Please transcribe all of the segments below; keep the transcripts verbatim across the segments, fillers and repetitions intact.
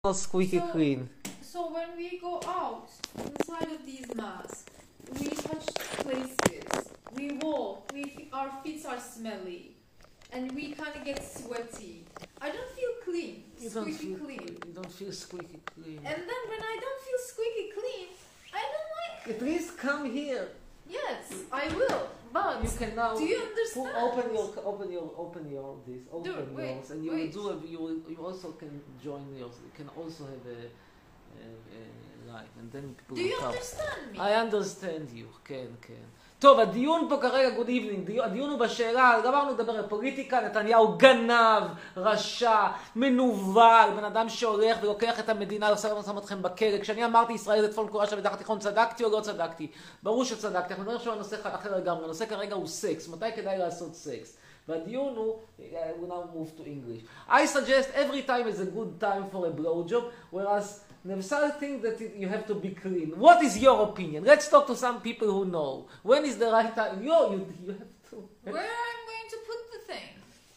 Not squeaky So, clean. so when we go out inside of these masks, we touch places, we walk, we our feet are smelly, and we kind of get sweaty. I don't feel clean, You don't squeaky feel clean. You don't feel squeaky clean. And then when I don't feel squeaky clean, I don't like. At least come here. Yes, I will. But You can now do you pu- understand? open your open your open your this open Dude, wait, yours, and you wait. will do a, you will, you also can join yours. You can also have a, a, a live, and then people Do you will come. understand me? I understand you, כן, כן. טוב, הדיון פה כרגע, good evening, דיון, הדיון הוא בשאלה, גמרנו לדבר על פוליטיקה, נתניהו גנב, רשע, מנוול, בן אדם שהולך ולוקח את המדינה, עושה שם אתכם בכלא. כשאני אמרתי ישראל זה צפון קוריאה של המזרח התיכון, צדקתי או לא צדקתי? ברור שצדקתי, אנחנו מדברים עכשיו על נושא אחר לגמרי, הנושא כרגע הוא סקס, מתי כדאי לעשות סקס? והדיון הוא, we now move to English. I suggest every time is a good time for a blowjob, whereas Nevsal thinks that it, you have to be clean. What is your opinion? Let's talk to some people who know. When is the right time? You, you, you have to... Where I'm going to put the thing?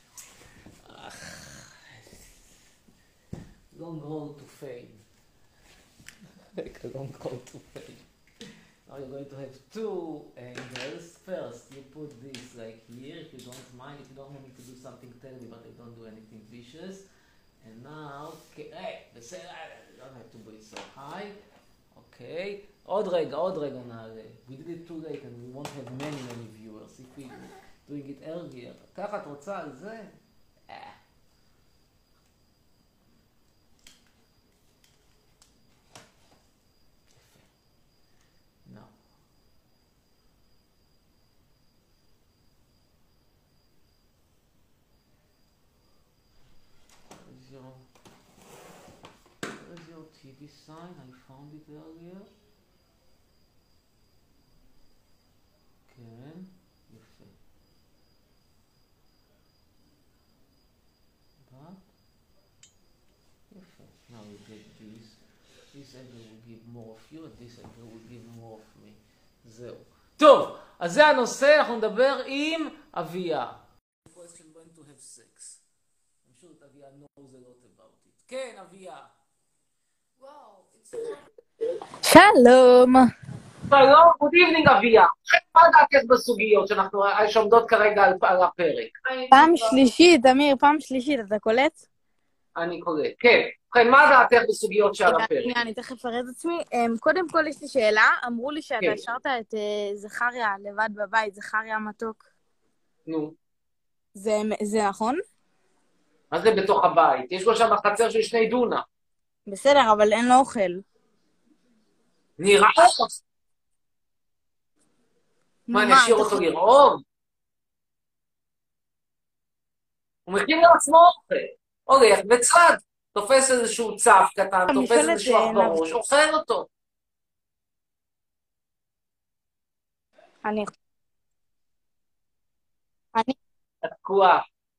Long road to fame. Like a long road to fame. Now you're going to have two angles. First, you put this like here, if you don't mind, if you don't want me to do something terrible, but I don't do anything vicious. And now, okay, hey, בסדר, you don't have to do it so high. Okay. עוד רגע, עוד רגע נעלה. We did it too late and we won't have many many viewers if we doing it earlier. ככה את רוצה על זה? אה. No. Where's your, where's your T V sign? I found it earlier. כן, יפה. But, יפה. Now you get this. This angle will give more of you, and this angle will give more of me. זהו. טוב, אז זה הנושא, אנחנו נדבר עם אביה. question when to have sex. I'm sure that אביה knows a lot about it. כן, אביה. Wow, it's שלום. שלום, good evening אביה. מה דעתך בסוגיות שאנחנו שעומדות כרגע על על הפרק? פעם שלישית, אמיר, פעם שלישית, אתה קולט? אני קורא. כן. כן, מה דעתך בסוגיות שעל הפרק? שנייה, אני תכף אראה את עצמי. אמ, קודם כל יש לי שאלה, אמרו לי שאתה כן. השארת את אה, זכריה לבד בבית, זכריה מתוק. נו. זה זה נכון? מה זה בתוך הבית? יש לו שם חצר של שני דונה. בסדר, אבל אין לו אוכל. נראה לך. מה, אני אשאיר אותו לרעוב? הוא מכין לעצמו אוכל. הולך בצד, תופס איזשהו צף קטן, אני תופס שואלת, איזשהו אה, אח בראש, אוכל אותו. אני... אני... תקוע.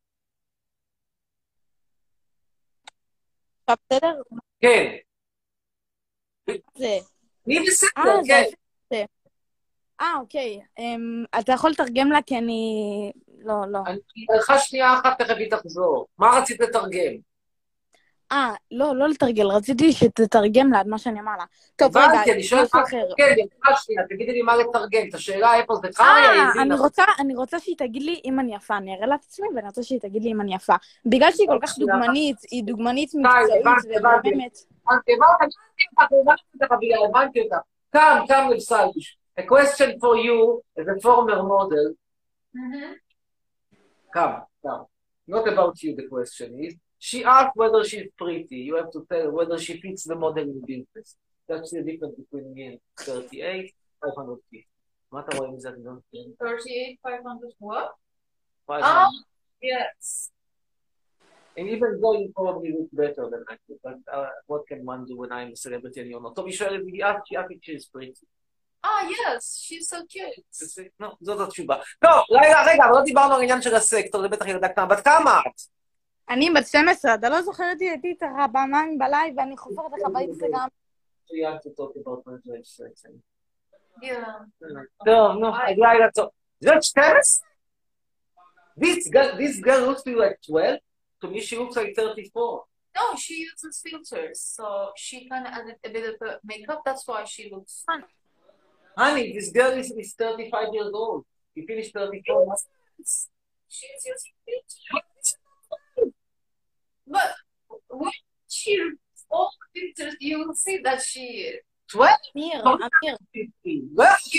עכשיו בסדר? כן. זה... אני בסדר, אה, זה... כן. זה... אה, אוקיי. אמ, אתה יכול לתרגם לה כי אני... לא, לא. אני לך שנייה אחת, תכף היא תחזור. מה רצית לתרגם? אה, לא, לא לתרגל, רציתי שתתרגם לה את מה שאני אמר לה. טוב, רגע, הבנתי, אני שואלת משהו מה אחר. כן, לך שנייה, תגידי לי מה לתרגם. את השאלה איפה זה חריה, אה, היא אני הבינה. רוצה, אני רוצה שהיא תגיד לי אם אני יפה, אני אראה לה את עצמי ואני רוצה שהיא תגיד לי אם אני יפה. בגלל שהיא כל כך דוגמנית, היא דוגמנית מקצועית הבנתי, הבנתי. ומהממת. הבנתי, הבנתי, הבנתי אותך, אביה, הבנתי אותך. Come, come לבסלביש. A question for you as a former model. Mm-hmm. Come, come. Not about you, the question is. She asked whether she's pretty. You have to tell her whether she fits the modeling business. That's the difference between me and thirty-eight, five hundred fifty. מה אתה רואה מזה? thirty-eight, five hundred what? five Oh, hundred. yes. And even though you probably look better than I do, but uh, what can one do when I'm a celebrity and you're not? טוב, היא שואלת, היא asked, she asked if she's pretty. Ah, yes, she's so cute. לא, זאת התשובה. טוב, רגע, רגע, אבל לא דיברנו על העניין של הסקטור, זה בטח ילדה קטנה. בת כמה את? אני בת שתים עשרה, אתה לא זוכר אותי, הייתי איתך פעמיים בלייב ואני חופרת לך באינסטגרם. So you have to talk about my sex. Yeah. טוב, נו, לילה טוב. זאת שתים עשרה? This girl, this girl looks to you like twelve. To me, she looks like thirty-four. No, she uses filters, so she kind of added a bit of uh, makeup. That's why she looks. Honey, this girl is, is thirty-five years old. She finished thirty-four. She's using filters. But when she all filters, you will see that she twelve? אמיר, לא אמיר, fifteen. לא יכול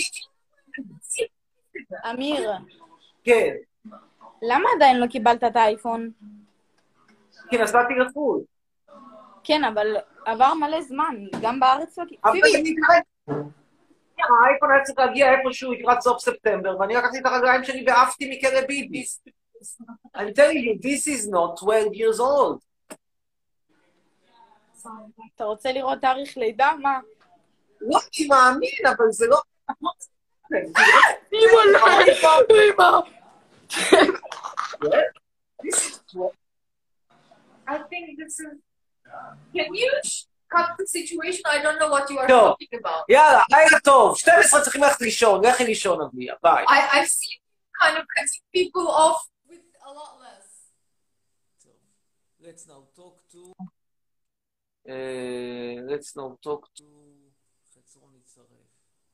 אמיר, כן, למה עדיין לא קיבלת את האייפון? כי נסעתי לחו"ל. כן, אבל עבר מלא זמן, גם בארץ לא... אבל פיבי, אני כרגע... האייפון היה צריך להגיע איפשהו לקראת סוף ספטמבר, ואני לקחתי את הרגליים שלי ועפתי מכלא ביבי. I'm telling you, this is not twelve years old. אתה רוצה לראות תאריך לידה? מה? לא, אני מאמין, אבל זה לא... אמא, לא, אמא. I think this is. Can you cut the situation? I don't know what you are No. talking about. יאללה, לילה טוב, שתים עשרה צריכים ללכת לישון, לכי לישון, אביה, ביי. I, I've seen kind of cutting people off with a lot less. Let's now talk to... Uh, let's now talk to... חצרון יצרף.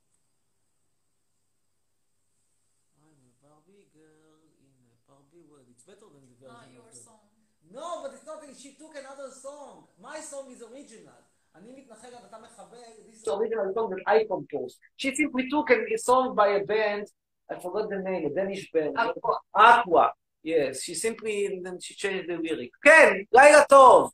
I'm a Barbie girl in a Barbie world. It's better than the version Not of your the... song. No, but it's not... She took another song. My song is original. אני מתנחל גם אתה מחבר. This is original song that I composed. She simply took a song by a band. I forgot the name, a Danish band. Aqua. Aqua. Yes, she simply... And then she changed the lyric. כן, לילה טוב.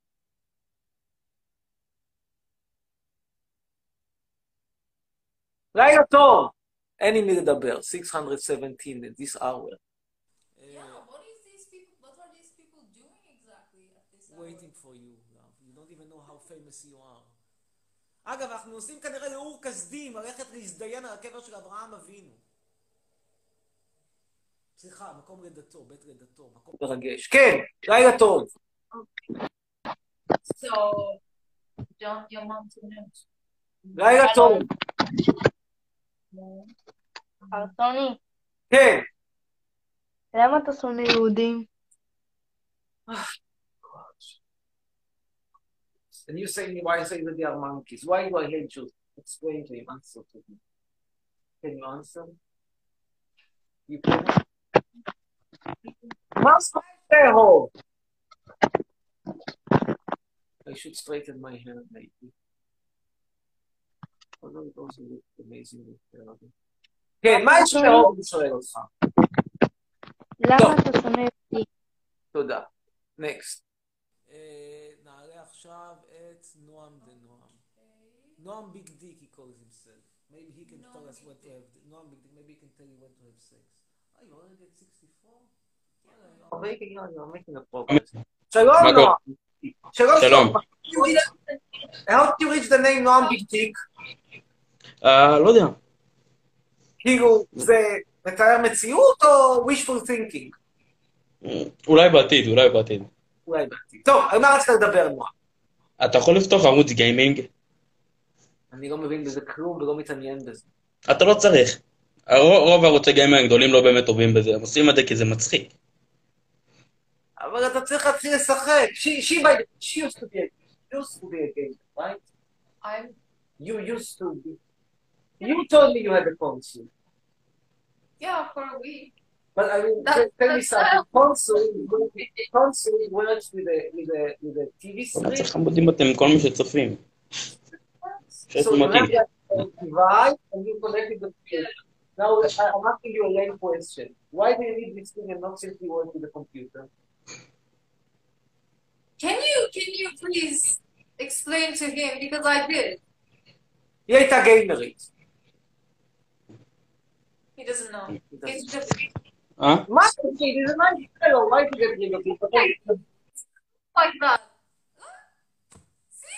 לילה טוב. אין עם מי לדבר. six seventeen at this hour. Yeah, what is these people? What are these people doing exactly at this hour? Waiting for you, love. You don't even know how famous you are. אגב, אנחנו עושים כנראה לאור כסדים, הלכת להזדיין על הקבר של אברהם אבינו. סליחה, מקום לידתו, בית לידתו, מקום מרגש. כן, לילה טוב. So, don't your mom to know. לילה טוב. ארטוני, כן. למה אתה שונא יהודים? And you say me why I say that they are monkeys. Why do I hate Jews? Explain to him. Answer to him. Can you answer? You can. Must stay home. I should straighten my hair maybe. Although it also looks amazing. כן, מה יש לאור לשואל אותך? למה אתה שונא יהודים? תודה. Next. נעלה עכשיו את נועם דנועם. נועם ביג דיק he calls himself. Maybe he can tell us what to have. נועם ביג דיק, maybe he can tell you when to have sex. Oh, you already get sixty-four? You're making a progress. שלום נועם. שלום. How did you reach the name נועם ביג דיק? לא יודע. כאילו, זה מתאר מציאות או wishful thinking? אולי בעתיד, אולי בעתיד. אולי בעתיד. טוב, על מה רצית לדבר, נועם? אתה יכול לפתוח ערוץ גיימינג? אני לא מבין בזה כלום ולא מתעניין בזה. אתה לא צריך. רוב ערוצי גיימינג הגדולים לא באמת טובים בזה, הם עושים את זה כי זה מצחיק. אבל אתה צריך להתחיל לשחק. She, she, by the, she used to be a, used to be a gamer, right? I'm. You used to be. You told me you had a console. Yeah, for a week. But I mean, That- tell me that's something. Console, console works with a with a with a T V אבל צריך screen. חמודים אתם, כל מי שצופים. שיש So you מתאים. have that device and you connect it to the. Now I- I'm asking you a lame question. Why do you need this thing and not simply work with the computer? Can you can you please explain to him because I did. היא הייתה גיימרית. He doesn't know. He doesn't. It's just אה? מה זה? זה מה שלו, מה הייתי גיימרית? like that. See?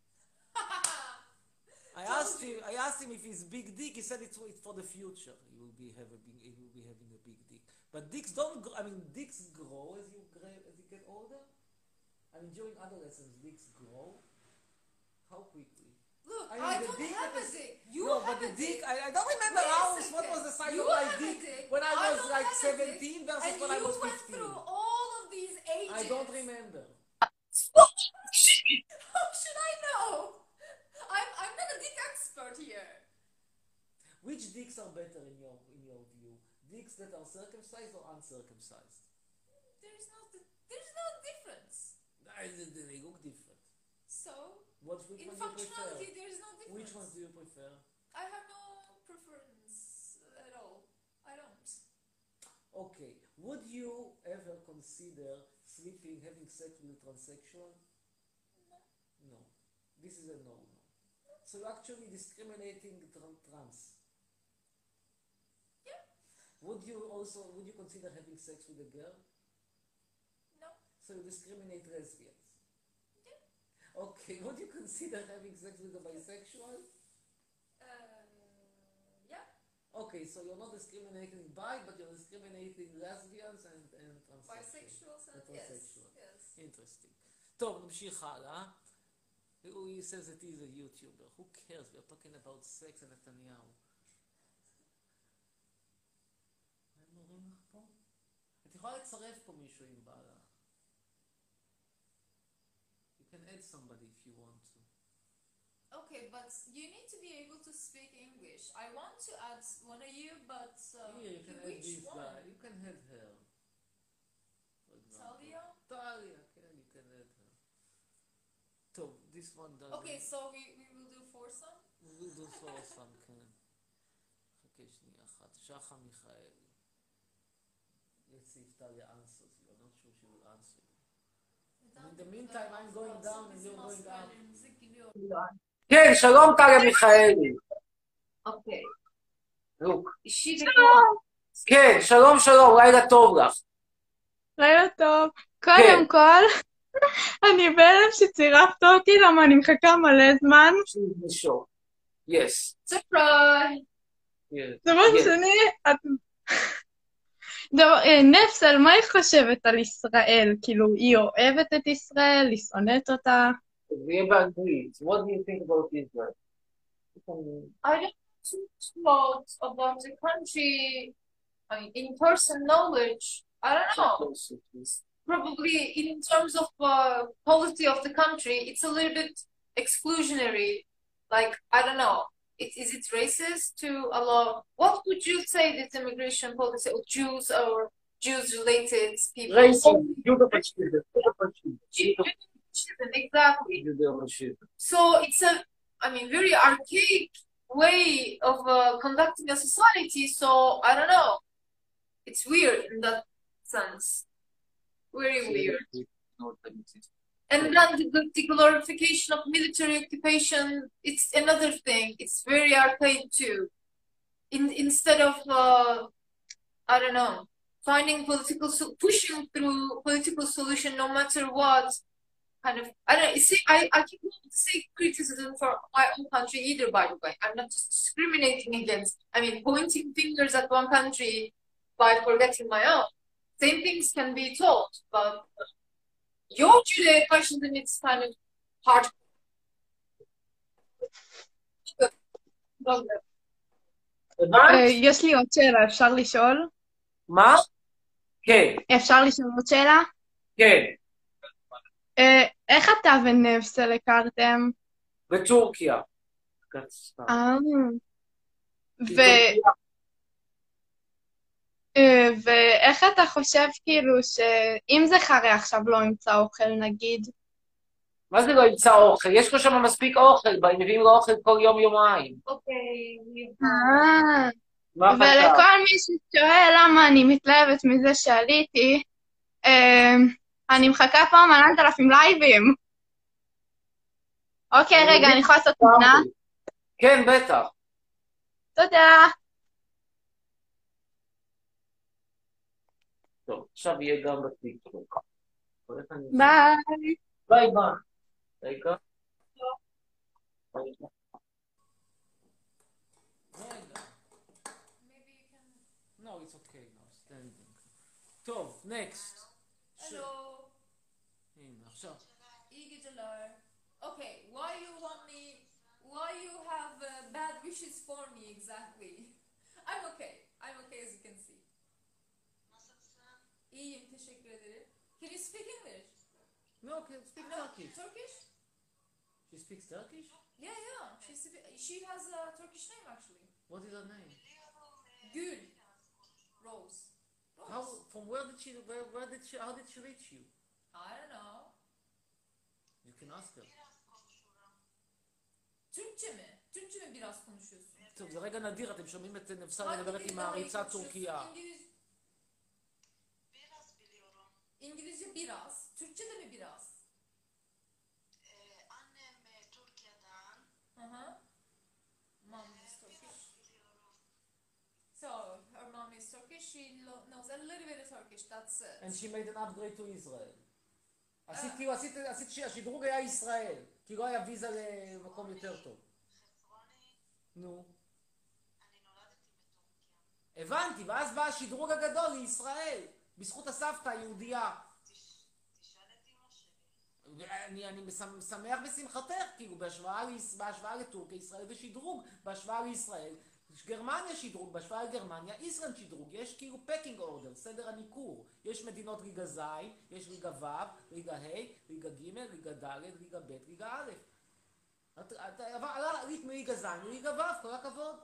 I asked him. I asked him if he's big dick. He said it's, it's for the future. He will be have a big. He will be having a big dick. But dicks don't. Grow, I mean, dicks grow as you grow, as you get older. I mean, during adolescence, dicks grow. How quickly? Look, I I, mean, the don't dick have that a is- dick. You no, have but the a dick. dick. I, I don't remember Wait a how. second. What was the size You of my have a dick dick. when I I was don't like have a dick. seventeen versus And when I you was went fifteen? through all of these ages. I don't remember. Which dicks are better in your in your view? Dicks that are circumcised or uncircumcised? There's no there's no difference. They look different. So What which in one do you functionality prefer? there's no difference. Which ones do you prefer? I have no preference at all. I don't. Okay. Would you ever consider sleeping, having sex with a transsexual? No. No. This is a no-no. So you're actually discriminating tran- trans. Yeah. Would you also, would you consider having sex with a girl? No. So you discriminate lesbians. Yeah. Okay, would you consider having sex with a bisexual? Uh, yeah. Okay, so you're not discriminating bi, but you're discriminating lesbians and, and transsexuals. Bisexuals and And yes. transsexual. Yes. Interesting. טוב, נמשיך הלאה. He says that he's a YouTuber. Who cares? We're talking about sex and נתניהו. מה הם אומרים לך פה? את יכולה לצרף פה מישהו אם בא לך. You can add somebody if you want to. Okay, but you need to be able to speak English. I want to add one of you, but uh, Here, you can add which this one? guy. You can add her. For example. Talia? Talia, okay, you can add her. טוב, this one doesn't... Okay, so we, we will do foursome? We will do for some, כן. חכה שנייה אחת. שחה מיכאלי. Let's see if Talia answers you. I'm not sure she will answer you. In the meantime, I'm going down and you're going up. כן, שלום טליה מיכאלי. אוקיי. לוק. שלום. כן, שלום שלום, לילה טוב לך. לילה טוב. קודם כל, אני בהלם שצירפת אותי, למה אני מחכה מלא זמן. Yes. Surprise! דבר שני, נפסל, מה היא חושבת על ישראל? כאילו, היא אוהבת את ישראל, היא שונאת אותה? נהיה באנגלית. What do you think about Israel? I don't know about the country, I mean, in person knowledge. I don't know. Probably in terms of uh, policy of the country, it's a little bit exclusionary. Like, I don't know. It, is it racist to allow? What would you say this immigration policy of Jews or Jews-related people? Racist. Judeo-fascism. Exactly. Judeo-fascism. So it's a, I mean, very archaic way of uh, conducting a society. So I don't know. It's weird in that sense. Very weird. And then the, the glorification of military occupation, it's another thing. It's very archaic too. In, instead of, uh, I don't know, finding political, so- pushing through political solution no matter what, kind of, I don't see, I, I can't say criticism for my own country either, by the way. I'm not just discriminating against, I mean, pointing fingers at one country by forgetting my own. Same things can be told, but your Judeo-fascism, it's kind of hard. יש לי עוד שאלה, אפשר לשאול? מה? כן, אפשר לשאול עוד שאלה? כן. איך אתה ונפסל הכרתם? בטורקיה. אה. ו... ואיך אתה חושב כאילו שאם זה חרי עכשיו לא ימצא אוכל נגיד? מה זה לא ימצא אוכל? יש לו שם מספיק אוכל, הם מביאים לו אוכל כל יום יומיים. אוקיי. ולכל מי ששואל למה אני מתלהבת מזה שעליתי, אני מחכה פעם על אלפים לייבים. אוקיי, רגע, אני יכולה לעשות תמונה? כן, בטח. תודה. טוב, עכשיו יהיה גם בטיקטוק. ביי. ביי ביי. רגע. רגע. Maybe you can... No, it's okay now, standing. טוב, next. Hello. הנה, עכשיו. Iggy Jalal. Okay, why you want me, why you have uh, bad wishes for me exactly? I'm okay. I'm okay as you can see. İyiyim, teşekkür ederim. Can you speak English? No, okay, speak No, Turkish. Turkish? She speaks Turkish? Yeah, yeah. She's, she has a Turkish name actually. What is her name? Gül. Rose. Rose. How, from where did she, where, where did she, how did she reach you? I don't know. You can ask her. Türkçe mi? Türkçe mi biraz konuşuyorsun? טוב, זה רגע נדיר, אתם שומעים את נבסל Hangi מדברת עם dilden מעריצת konuşuyorsun? טורקיה. İngiliz... Biraz biliyorum. İngilizce biraz. Türkçe de mi biraz? Ee, annem e, Türkiye'den. Hı hı. Mom is Turkish. Biliyorum. So, her mom is Turkish. She lo- knows a little bit of Turkish. That's it. And she made an upgrade to Israel. עשית כאילו, עשית, עשית שהשדרוג היה ישראל, כי לא היה ויזה למקום יותר טוב. חצרוני, נו. אני נולדתי בטורקיה. הבנתי, ואז בא השדרוג הגדול לישראל, בזכות הסבתא היהודייה. תש- תשאל את אמא שלי. ואני אני משמח שמח בשמחתך, כאילו בהשוואה, ליש- בהשוואה לטורקיה, ישראל זה שדרוג, בהשוואה לישראל, גרמניה שדרוג, בהשוואה לגרמניה, ישראל שדרוג, יש כאילו פקינג אורדר, סדר הניכור, יש מדינות ליגה ז', יש ליגה ו', ליגה ה', ליגה ג', ליגה ד', ליגה ב', ליגה א'. את- את- אבל עלית מליגה ז' לליגה ו', כל הכבוד.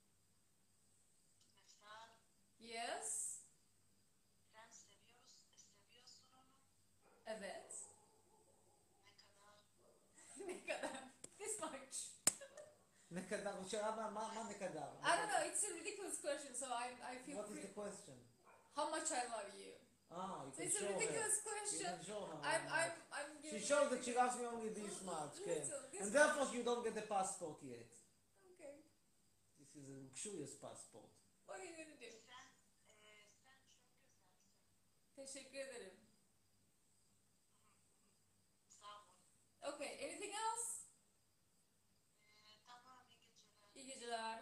נפתל, Yes. כן, סביוס, סביוס סולונו, Evet. נקדר. Ne kadar? This much. נקדר, שאלה מה, מה, מה נקדר? I don't know. It's a ridiculous question, so I I feel What is free. the question? How much I love you. Ah, you can It's a show her. ridiculous You question. can show her. I'm I'm I'm She giving shows you- that she loves me only this much, כן. Little, this And much. therefore you don't get the passport yet. Okay. This is a luxurious passport. What are you gonna do? Sen, e, sen çok güzelsin. Teşekkür ederim. Sağ ol. Okay. Anything else? E, tamam, iyi geceler. İyi geceler.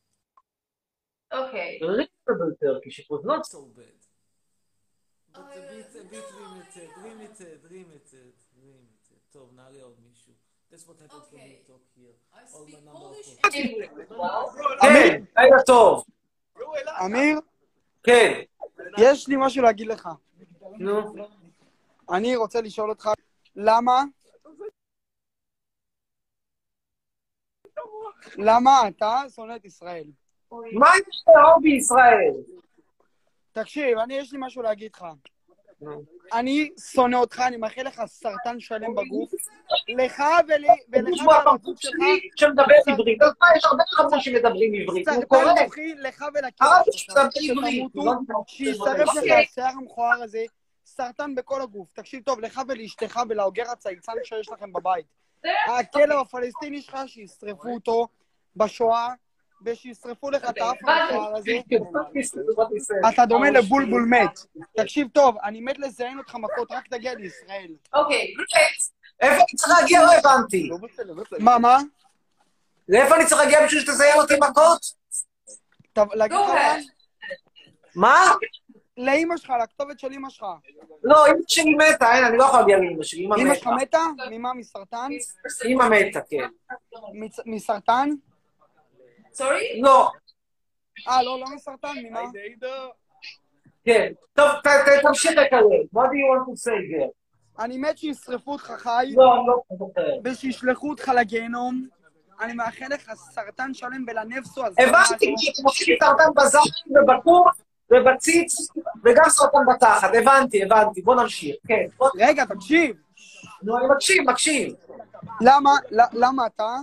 Okay. Reasonable Turkish, it was not so bad. But Uh, a bit, a bit no, limited, yeah. limited, limited, limited. טוב, נעלה עוד מישהו. That's what happens when Okay. you talk here. I All speak my number of Polish courses. and English. כן, לילה טוב. אמיר, כן. יש לי משהו להגיד לך. נו. אני רוצה לשאול אותך, למה... למה אתה שונא את ישראל? מה יש לאהוב בישראל? תקשיב, אני, יש לי משהו להגיד לך. אני שונא אותך, אני מאחל לך סרטן שלם בגוף. לך ולי, ולך ולגוף שלך, שמדבר עברית, אז מה, יש הרבה חבר'ה שמדברים עברית, הוא קורא. סרטן מוחי לך ולכלב הרב שלך. שמדבר עברית, שתמותו, שישרף לך השיער המכוער הזה, סרטן בכל הגוף. תקשיב טוב, לך ולאשתך ולאוגר הצייצן שיש לכם בבית. הכלב הפלסטיני שלך, שישרפו אותו בשואה, ושישרפו לך את האף המכוער הזה. אתה דומה לבולבול מת. תקשיב טוב, אני מת לזיין אותך מכות, רק תגיע לישראל. אוקיי. איפה אני צריך להגיע? לא הבנתי. מה, מה? לאיפה אני צריך להגיע בשביל שתזיין אותי מכות? טוב, להגיד לך לאן? מה? לאמא שלך, לכתובת של אמא שלך. לא, אמא שלי מתה, אין, אני לא יכול להגיע לאמא שלי, אמא אמא שלך מתה. מתה? ממה? מסרטן? אמא מתה, כן. מצ- מסרטן? סורי? לא, אה, לא, לא מסרטן, ממה? כן. טוב, ת- ת- תמשיך לקרב. What do you want to say there? אני מת שישרפו אותך חי, לא, אני לא זוכר. ושישלחו אותך לגיהנום. אני מאחל לך סרטן שלם ולנפסו הזה. הבנתי שאתם עושים סרטן בזין ובקור ובציץ וגם סרטן בתחת, הבנתי, הבנתי, בוא נמשיך, כן. בוא- רגע, תקשיב. נו, אני מקשיב, מקשיב. למה, ל- למה אתה?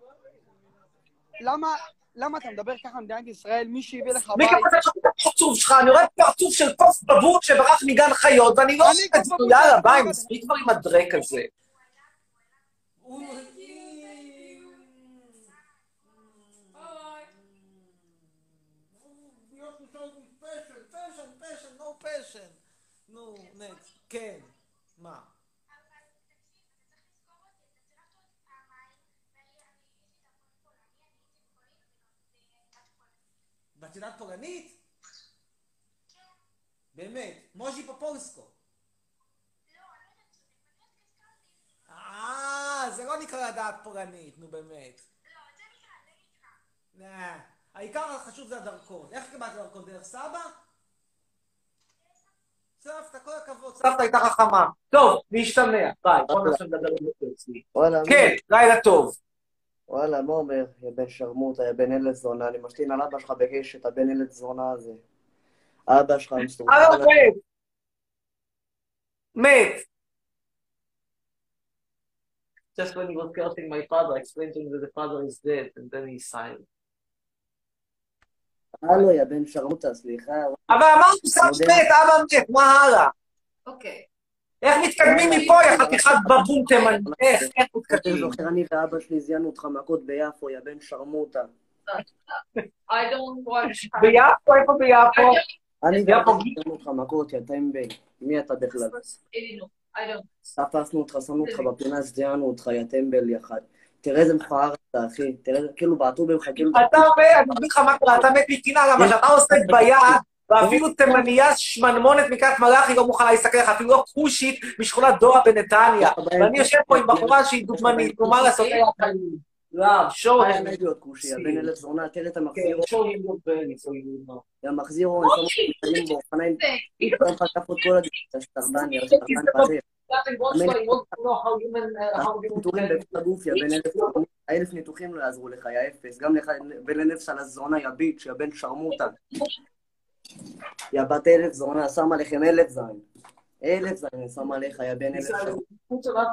למה, למה אתה מדבר ככה במדינת ישראל? מי שהביא לך מי בית? כמובן את הפרצוף שלך, אני רואה פרצוף של קוף בבוט שברח מגן חיות, ואני לא אני עושה את קוף זה, בבוט יאללה, של- ביי, מספיק כבר עם הדרק הזה. נו, נקסט, כן, מה? ואת יודעת פולנית? באמת, מוז'י פופולסקו. אה, זה לא נקרא לדעת פולנית, נו באמת. נה, העיקר החשוב זה הדרכון. איך קיבלת דרכון? דרך סבא? סבתא, כל הכבוד, סבתא הייתה חכמה. טוב, להשתמע. ביי, בוא נעשה לדבר עם זה אצלי. וואלה, כן, לילה טוב. וואלה, מה אומר? יא בן שרמוטה, יא בן ילד זונה, אני משתין על אבא שלך בקשת, הבן ילד זונה הזה. אבא שלך מסתובב. הלו, מת. מת. Just when he was cursing my father, I explained to him that the father is dead, and then he silent. הלו, יא בן שרמוטה, סליחה. אבל אמרנו, סבתא מת, אבא מת, מה הלאה? אוקיי. איך מתקדמים מפה, יא חתיכת בבון תימני? איך, איך אתה מתקדמים? זוכר, אני ואבא שלי זיינו אותך מכות ביפו, יא בן שרמוטה. I don't watch. ביפו, איפה ביפו? אני יפו ואבא גיל? זיינו אותך מכות, יא טמבל. מי אתה בכלל? I don't. תפסנו אותך, שמנו אותך בפינה, זיינו אותך, יא טמבל יחד. תראה איזה מכוער אתה, אחי. תראה, כאילו בעטו בך, כאילו... אתה מת, אני אגיד לך מה קורה, אתה מת מקינה, למה שאתה עושה ביד, ואפילו תימניה שמנמונת מקריית מלאכי לא מוכנה להסתכל לך, אפילו לא כושית משכונת דורה בנתניה. ואני יושב פה עם בחורה שהיא דוגמנית, נו מה לעשות? לא, שואו. היה להיות כושי, יא בן ילד זונה, תראה את המחזיר. כן, שואו עם בני, שואו עם בני. יא מחזיר, אני שם אותך מתקדים באופניים. אתה חטף את כל הדיסטה, שטרדן, יא שטרדן פזר. ניתוחים בכל הגוף, יא בן אלף, האלף ניתוחים לא יעזרו לך, יא אפס, גם לך ולנפש על הזונה, יא ביץ', יא בן שרמוטה. יא בת אלף זונה, שם עליכם אלף זין. אלף זין, אני שם עליך, יא בן אלף שרמוטה.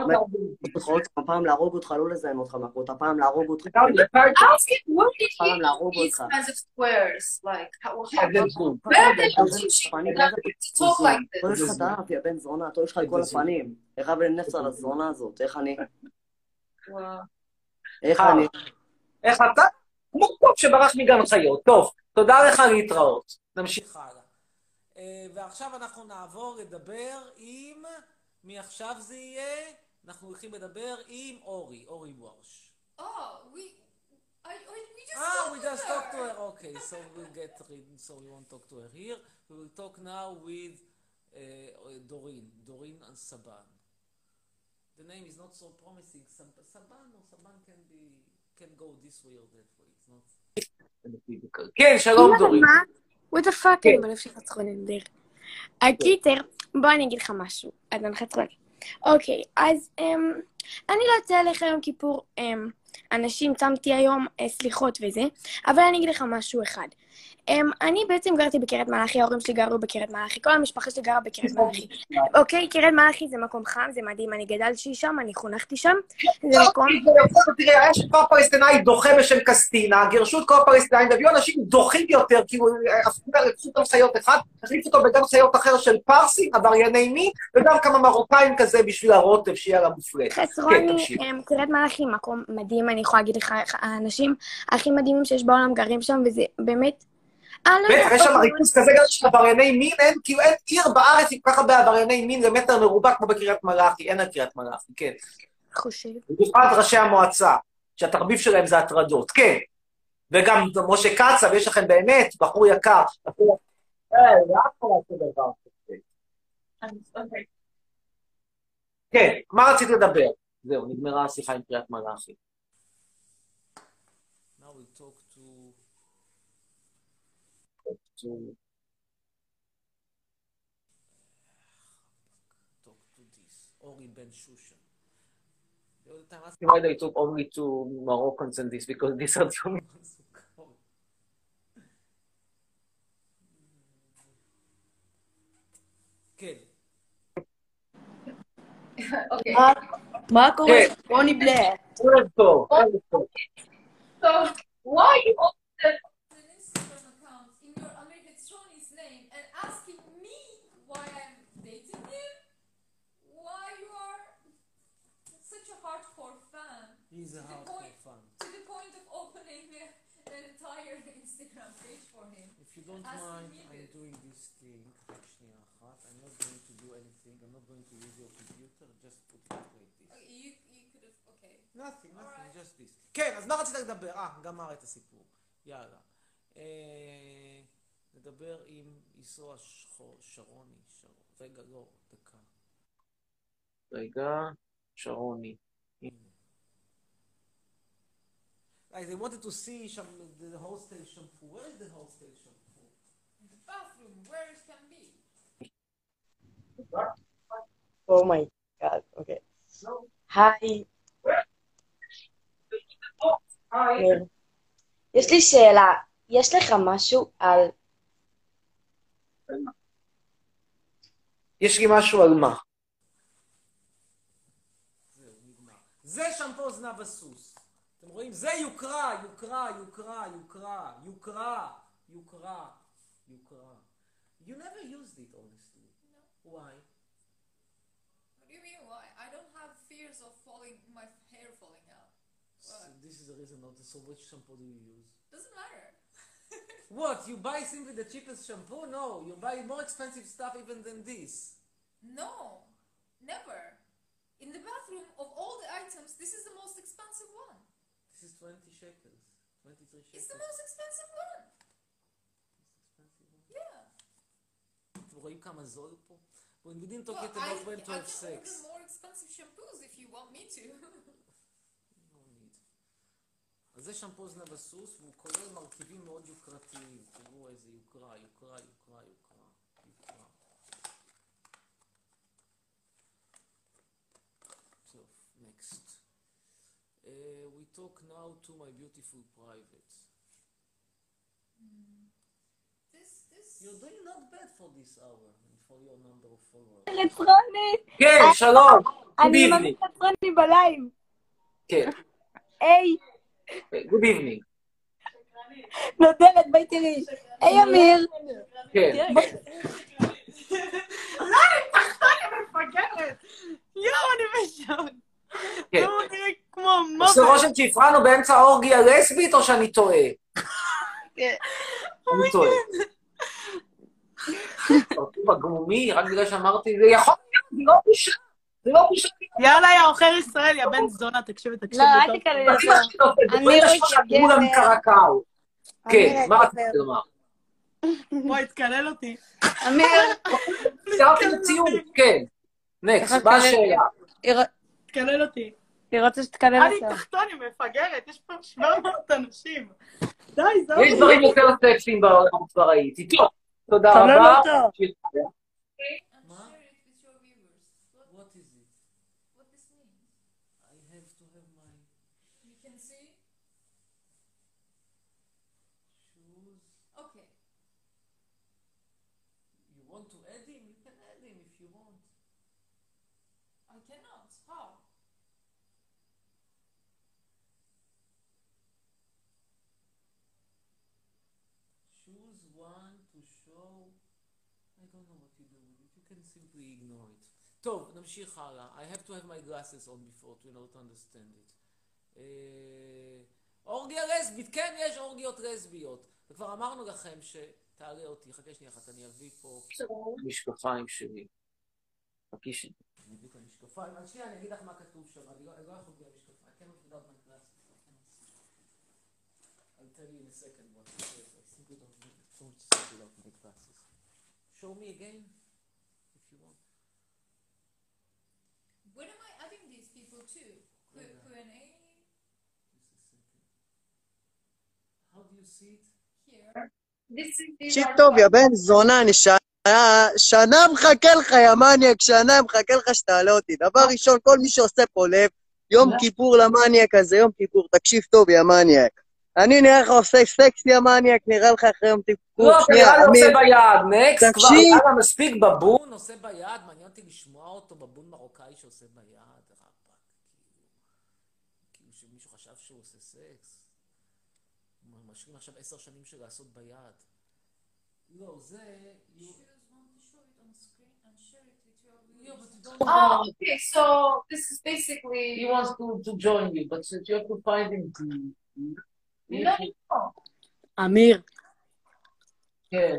הפעם להרוג אותך, לא לזיין אותך מכות, הפעם להרוג אותך. Ask him, what did פעם he להרוג do these אותך. kinds of squares? Like, how, how, Yeah, that's good. where are they teaching them to talk like כל this? יש לך טעף, יא בן זונה, אתה יש לך את כל הפנים. איך ולנפש על הזונה הזאת, איך אני... Wow. איך אני... איך אתה? כמו טוב שברח מגן חיות. טוב, תודה לך להתראות. נמשיך הלאה. ועכשיו אנחנו נעבור לדבר עם... מי עכשיו זה יהיה? אנחנו הולכים לדבר עם אורי, אורי וורש. Oh, we, I, I, we just Ah, talked we to just her. talked to her. Okay, so we'll get rid. So we won't talk to her here. We will talk now with uh, Doreen, Doreen and Saban. The name is not so promising. Sab- Saban or Saban can be can go this way or that way. It's not. כן, שלום דורין. מה? what the fuck, כן. אני בלב שלך צחונים דרך. הקיצר, בוא אני אגיד לך משהו. אז אני חצרון. אוקיי, אז אמ, אני לא יוצא לך יום כיפור, אמ, אנשים צמתי היום אה, סליחות וזה, אבל אני אגיד לך משהו אחד. אמ, אני בעצם גרתי בקריית מלאכי, ההורים שלי גרו בקריית מלאכי, כל המשפחה שלי גרה בקריית מלאכי. אוקיי, קריית מלאכי זה מקום חם, זה מדהים, אני גדלתי שם, אני חונכתי שם, זה מקום... תראה, יש כפר פלסטינאי דוחה בשם קסטינה, גירשו את כל הפלסטינאים, והביאו אנשים דוחים יותר, כאילו, הפכו גם חיות אחד, החליפו אותו בגן חיות אחר של פרסים, עברייני מין, וגם כמה מרוקאים כזה בשביל הרוטב, שיהיה לה מופלט. חצרוני, אמ, קריית מלאכי מקום מדהים, אני יכולה להגיד לך, האנשים הכי מדהימים שיש בעולם גרים שם, וזה באמת... בטח, יש שם ריכוז כזה גם של עברייני מין, אין, כאילו אין עיר בארץ עם ככה בעברייני מין למטר מרובע כמו בקריית מלאכי, אין על קריית מלאכי, כן. חושב. במיוחד ראשי המועצה, שהתחביב שלהם זה הטרדות, כן. וגם משה קצב, יש לכם באמת, בחור יקר. אה, לאט כל לעשות דבר. כן, מה רצית לדבר? זהו, נגמרה השיחה עם קריית מלאכי. Now we talk to... to talk to this Ori Ben Shushan. The other time asking why they took only to Moroccans and this because these are the only ones who come. כן. Okay. מה קורה? רוני בלר. ערב טוב, ערב טוב. So, why you open the An Instagram account in your American Tony's name and asking me why I'm dating him? Why you are such a hardcore fan? He's a To the hardcore point- fan. To the point of opening an entire Instagram page for him. If you don't Ask mind, me I'm this. doing this thing. רק שנייה אחת. I'm not going to do anything. I'm not going to use your computer. Just put it like this. Okay, you, you could have, okay. Nothing, nothing, Alright. just this. כן, אז מה רצית לדבר? אה, גמר את הסיפור. יאללה. אה, נדבר עם ישוע שחור, שרוני. שרון. רגע, לא, דקה. רגע, שרוני. הנה. Like, they wanted to see some, the, the hostel shampoo. Where is the hostel shampoo? The bathroom, where it can be. אומייגאד, אוקיי. היי. אמיר. יש לי שאלה, יש לך משהו על... יש לי משהו על מה? זהו, נגמר. זה שמפו זנב הסוס. אתם רואים? זה יוקרה, יוקרה, יוקרה, יוקרה, יוקרה, יוקרה, יוקרה. You never used it, honestly. No. Why? What do you mean why? I don't have fears of falling, my hair falling out. So this is the reason not to. So which shampoo do you use? Doesn't matter. What? You buy simply the cheapest shampoo? No, you buy more expensive stuff even than this. No, never. In the bathroom, of all the items, this is the most expensive one. This is twenty shekels. twenty-three shekels. It's the most expensive one. Yeah. אתם רואים כמה זול פה? We didn't talk Well, yet I, about when to I have can sex. order more expensive shampoos if you want me to. No need. אז זה שמפו זנב הסוס, והוא כולל מרכיבים מאוד יוקרתיים. תראו איזה יוקרה, יוקרה, יוקרה, יוקרה, יוקרה. טוב, next. Uh, we talk now to my beautiful private. This, this. You're doing not bad for this hour and for your number of followers. רצרוני! כן, שלום. Good אני evening. ממש רצרוני בלייב. כן. היי, Good evening. נודלת, ביי תראי. היי אמיר. כן. לא, אני תחתון, אני מפגרת. יואו, אני בשעון. כן. לא נראה כמו עושה מוות. רושם שהפרענו באמצע האורגיה לסבית או שאני טועה? אני טועה. אותי בגמומי, רק בגלל שאמרתי, זה יכול להיות, זה לא בושה. זה לא בושה. יאללה, יא עוכר ישראל, יא בן זונה, תקשיב ותקשיב. לא, אל תקלל אותו. אני לא מקרקעו. כן, מה רציתי לומר? בואי, תקלל אותי. אמיר. סיירתי לציון, כן. נקסט, מה השאלה? תקלל אותי. היא רוצה שתקלל אני אותה. תחתון, היא מפגרת, יש פה שבע מאות אנשים. די, זהו. יש דברים יותר סקסיים בעולם, כבר ראיתי. טוב, תודה תקלל רבה. אותו. And share it with your viewers. What, What is it? what this means? I have to have my You can see? shoes. Okay. You want to add him? You can add him if you want. I cannot. How? Choose one to show. I don't know what you do with it. You can simply ignore it. טוב, נמשיך הלאה. I have to have my glasses on before to in order to understand it. אה, אורגיה לסבית, כן, יש אורגיות לסביות. וכבר אמרנו לכם שתעלה אותי, חכה שנייה אחת, אני אביא פה משקפיים שלי. חכי שנייה. אני אביא את המשקפיים. אז שנייה, אני אגיד לך מה כתוב שם. אני לא אני לא יכול בלי המשקפיים. I cannot without my glasses. I cannot see. I'll tell you in a second what it says. I simply don't need it. Don't see without my glasses. Show me again, if you want. When am I adding these people to? Q and A Just a second. How do you see it? here. This is these תקשיב are טוב, יא בן זונה, אני שנה, שנה מחכה לך, יא מניאק, שנה מחכה לך שתעלה אותי. דבר ראשון, כל מי שעושה פה לב, יום כיפור למניאק הזה, יום כיפור, תקשיב טוב, יא מניאק. אני נראה לך עושה סקס, יא מניאק, נראה לך אחרי יום כיפור. לא, אתה נראה לי עושה ביד. נקסט, כבר תקשיב. היה לה מספיק בבון, עושה ביד. מעניין אותי לשמוע אותו, בבון מרוקאי שעושה ביד. רבאק, כאילו, כאילו שמישהו חשב שהוא עושה סקס. הוא משלים עכשיו עשר שנים של לעשות ביד. לא, זה... Choose one to show it on screen and share it with your Yeah, viewers. but you don't Oh, okay. So this is basically He wants to, to join you, but you have to find him to... no, no. אמיר, כן.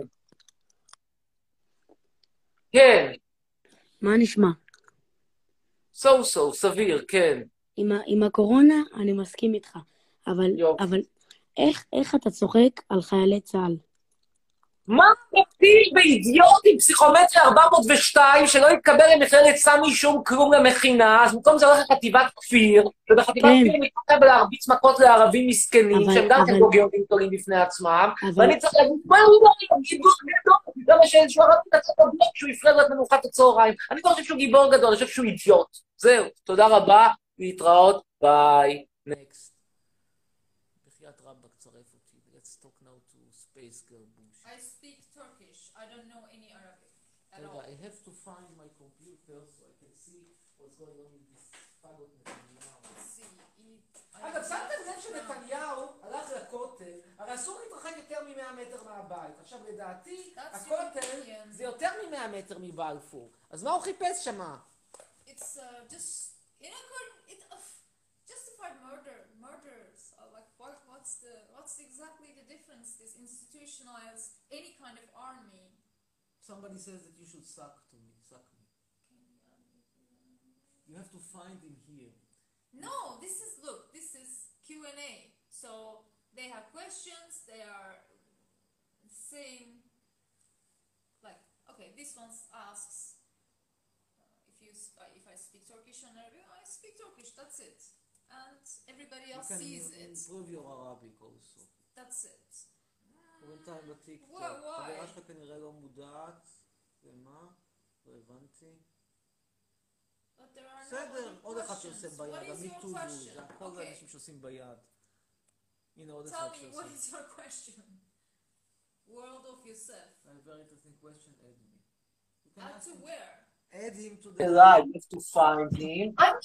כן. מה נשמע? So so, סביר, כן. עם, ה- עם הקורונה אני מסכים איתך, אבל, יופי. אבל איך, איך אתה צוחק על חיילי צה"ל? מה מפיל באידיוט עם פסיכומטרי ארבע מאות ושתיים שלא יתקבל למכללת סמי שום כלום למכינה, אז במקום זה הולך לחטיבת כפיר, ובחטיבת כן. כפיר מתקבל להרביץ מכות לערבים מסכנים, אבל- שהם גם כן אבל- גוגיונים גדולים בפני עצמם, אבל- ואני צריך להגיד, מה הוא לא גיבור גדול, למה שאיזשהו ערבי יצא בבלוק שהוא יפרד לו את מנוחת הצהריים, אני לא חושב שהוא גיבור גדול, אני חושב שהוא אידיוט. זהו, תודה רבה, להתראות, ביי, נקסט. בחייאת רבאק צרף אותי, let's talk now to space girl bullshit. I speak Turkish. I don't know any Arabic at all. רגע, I have to find my computer so I can see what's going on with this פגות נתניהו. Let's see. It- אגב, שמתם לב שנתניהו הלך לכותל, הרי אסור להתרחק יותר מ-מאה מטר מהבית. עכשיו, לדעתי, That's הכותל European. זה יותר מ-מאה מטר מבלפור. אז מה הוא חיפש שמה? It's uh, just in accord. It uh, justified murder, murders. Uh, like what? What's the? What's exactly the difference? This institutionalized any kind of army. Somebody says that you should suck to me, suck me. You have to find him here. No, this is look. This is Q and A. So they have questions. They are saying like, okay, this one asks uh, if you sp- uh, if I speak Turkish and Arabic. I speak Turkish. That's it. And everybody You else can sees it. improve your Arabic also. That's it. בינתיים בטיקטוק. Why- why? חברה שלך כנראה לא מודעת. ומה? לא הבנתי. But there are no בסדר, other עוד אחד questions. שעושה What ביד, is your המיטו זה question? הכל Okay. אנשים שעושים ביד. הנה עוד Tell אחד me, what שעושה. is your question? World of yourself. A very interesting question, add me. You can Add ask to him. where? Add him to the live, you have to find him.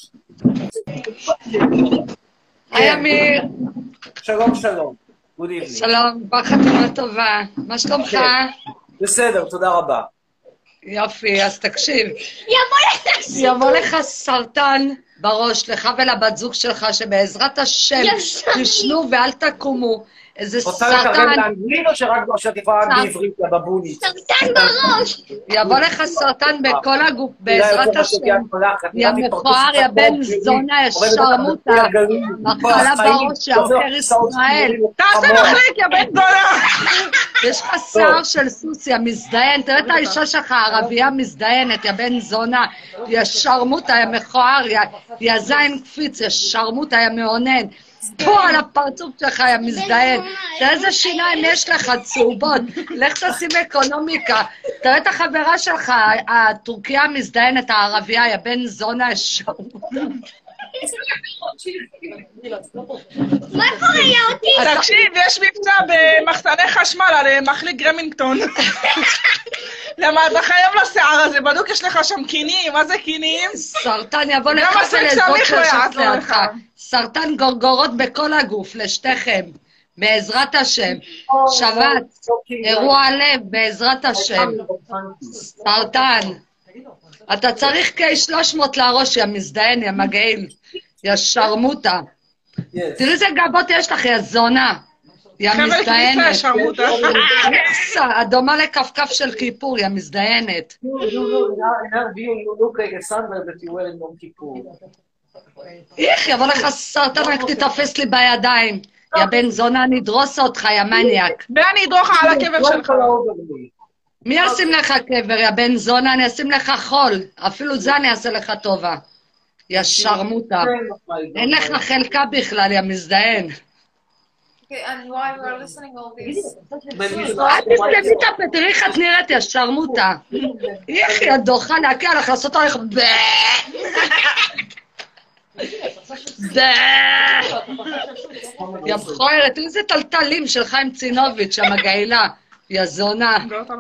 היי אמיר, שלום שלום, good evening. שלום, כבר חתימה טובה. מה שלומך? בסדר, תודה רבה. יופי, אז תקשיב. יבוא לך סרטן בראש, לך ולבת זוג שלך, שבעזרת השם תשנו ואל תקומו. איזה רוצה סרטן, לתרגם לאנגלית או שרק או שאת יכולה רק בעברית, יא בבונית? סרטן בראש. יבוא לך סרטן בכל הגוף, בעזרת השם. יא מכוער, יא בן זונה, יא שרמוטה, מחלה בראש, יא עוכר ישראל. תעשה מחליק, יא בן זונה. יש לך שיער של סוס, יא מזדיין. תראה את האישה שלך, ערבייה מזדיינת, יא בן זונה, יא שרמוטה, יא מכוער, יא זין קפיץ, יא שרמוטה, יא מעונן. פה על הפרצוף שלך, יא מזדיין. תראה איזה שיניים יש לך, צהובות. לך תשים אקונומיקה. תראה את החברה שלך, הטורקיה המזדיינת, הערבייה, יא בן זונה, יא שרמוטה. מה קורה, יאותי? תקשיב, יש מבצע במחסני חשמל על מחליק גרמינגטון. למה אתה חייב לשיער הזה? בדיוק יש לך שם קינים, מה זה קינים? סרטן יבוא לך ולזאת שיושבת לידך. סרטן גורגורות בכל הגוף, לשתיכם. בעזרת השם. שבת, אירוע לב, בעזרת השם. סרטן. אתה צריך קיי שלוש מאות לראש, יא מזדיין, יא מגעיל. יא שרמוטה. תראי איזה גבות יש לך, יא זונה. יא מזדיינת. הדומה לכפכף של כיפור, יא מזדיינת. איך, יבוא לך סרטן, רק תתאפס לי בידיים. יא בן זונה, נדרוס אותך, יא מניאק. ואני אדרוך על הקבר שלך. מי ישים לך קבר, יא בן זונה? אני אשים לך חול. אפילו זה אני אעשה לך טובה. יא שרמוטה. אין לך חלקה בכלל, יא מזדיין. Okay, and while we're listening all this, אל תסתכלי את הפה, תראי איך את נראית, יא שרמוטה. איך יא דוחה להקיא עליך, לעשות עליך ב... ב... יא מכוערת, איזה טלטלים של חיים צינוביץ', המגעילה. יא זונה.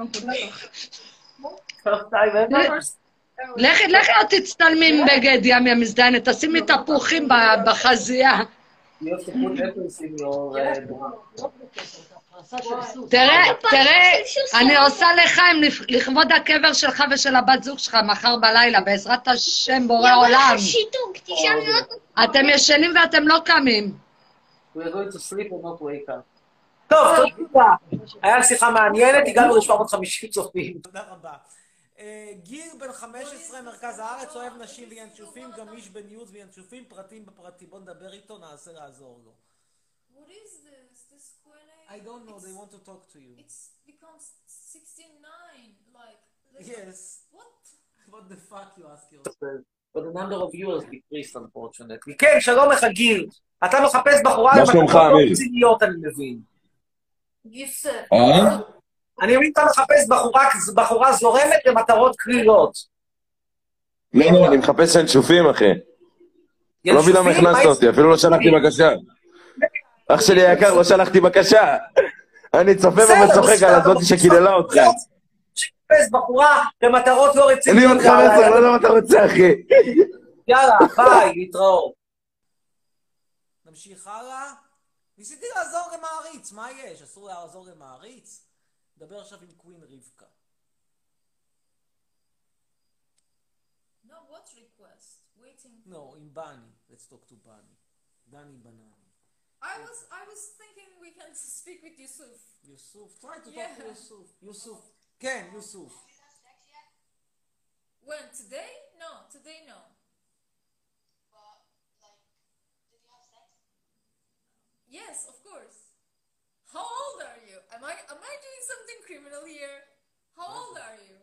לכי, לכי עוד תצטלמי עם בגד ים, יא מזדיינת, תשימי תפוחים בחזייה. תראה, תראה, אני עושה לחיים לכבוד הקבר שלך ושל הבת זוג שלך מחר בלילה, בעזרת השם בורא עולם. אתם ישנים ואתם לא קמים. טוב, תודה. היה שיחה מעניינת, הגענו ל-שבע מאות וחמישים צופים. תודה רבה. גיר בן חמש עשרה, מרכז הארץ, אוהב נשים וינשופים, גמיש בניוז וינשופים, פרטים בפרטים. בוא נדבר איתו, נעשה לעזור לו. What is this? This Q and A? I don't know, It's, they want to talk to you. It's becomes sixty-nine. Like. Yes. What? What the fuck you ask yourself? But the number of viewers decreased unfortunately. כן, שלום לך גיל. אתה מחפש בחורה מה שלומך, למטרות לא אמיר? רציניות, אני מבין. Yusuf. אה? אני מבין, אתה מחפש בחורה, בחורה זורמת למטרות קלילות. לא, לא, אני מחפש ינשופים, אחי. לא מבין למה הכנסת אותי, אפילו לא שלחתי בקשה. אח שלי היקר, לא שלחתי בקשה. אני צופה בה וצוחק על הזאתי שקיללה אותך. מחפש בחורה למטרות לא אני רציניות. עוד חמש עשרה, לא יודע מה אתה רוצה, אחי. יאללה, ביי, להתראות. נמשיך הלאה. ניסיתי לעזור למעריץ, מה יש? אסור לעזור למעריץ? נדבר עכשיו עם קווין רבקה. No, what request? Waiting. No, עם בני. Let's talk to בני. דני בנני. I was I was thinking we can speak with Yusuf. יוסוף, try to talk Yeah. to יוסוף. יוסוף. כן, יוסוף. When? Today? No, today no. Yes, of course. How old are you? Am I am I doing something criminal here? How old are you?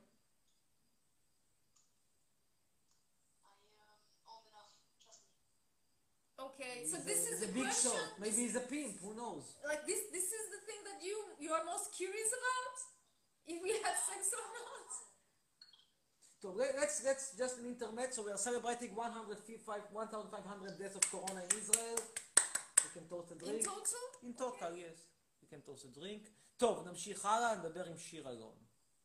Okay, so He's this a, is he's the a big question. shot. Maybe he's a pimp, who knows? Like this this is the thing that you you are most curious about? If we had sex or not? So let- let's let's just an internet. So we are celebrating one hundred five one thousand five hundred deaths of corona in Israel. We can toast a In drink. total? In total, yes. We can toast a drink. טוב, נמשיך הלאה, נדבר עם שיר אלון.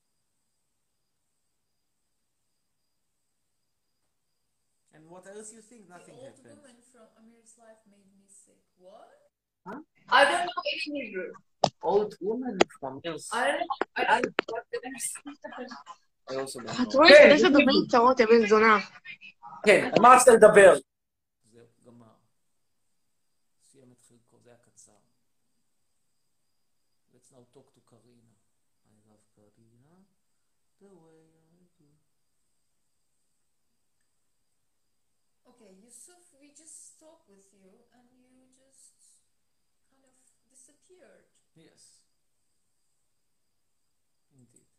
And what else you think? Nothing The old happened. woman from Amir's life made me sick. What? I don't know any Hebrew. Old woman from Amir's. I don't know. I don't know what the next I also don't את know. רואה כן, שיש לדוברים צרות, יא בן זונה. כן, על מה רצית לדבר? זהו, גמר. סיים את חלקו, זה היה קצר. Let's now talk to Karina. I love Karina. The way I do. Okay, Yusuf, we just talked with you and you just kind of disappeared. Yes. Indeed.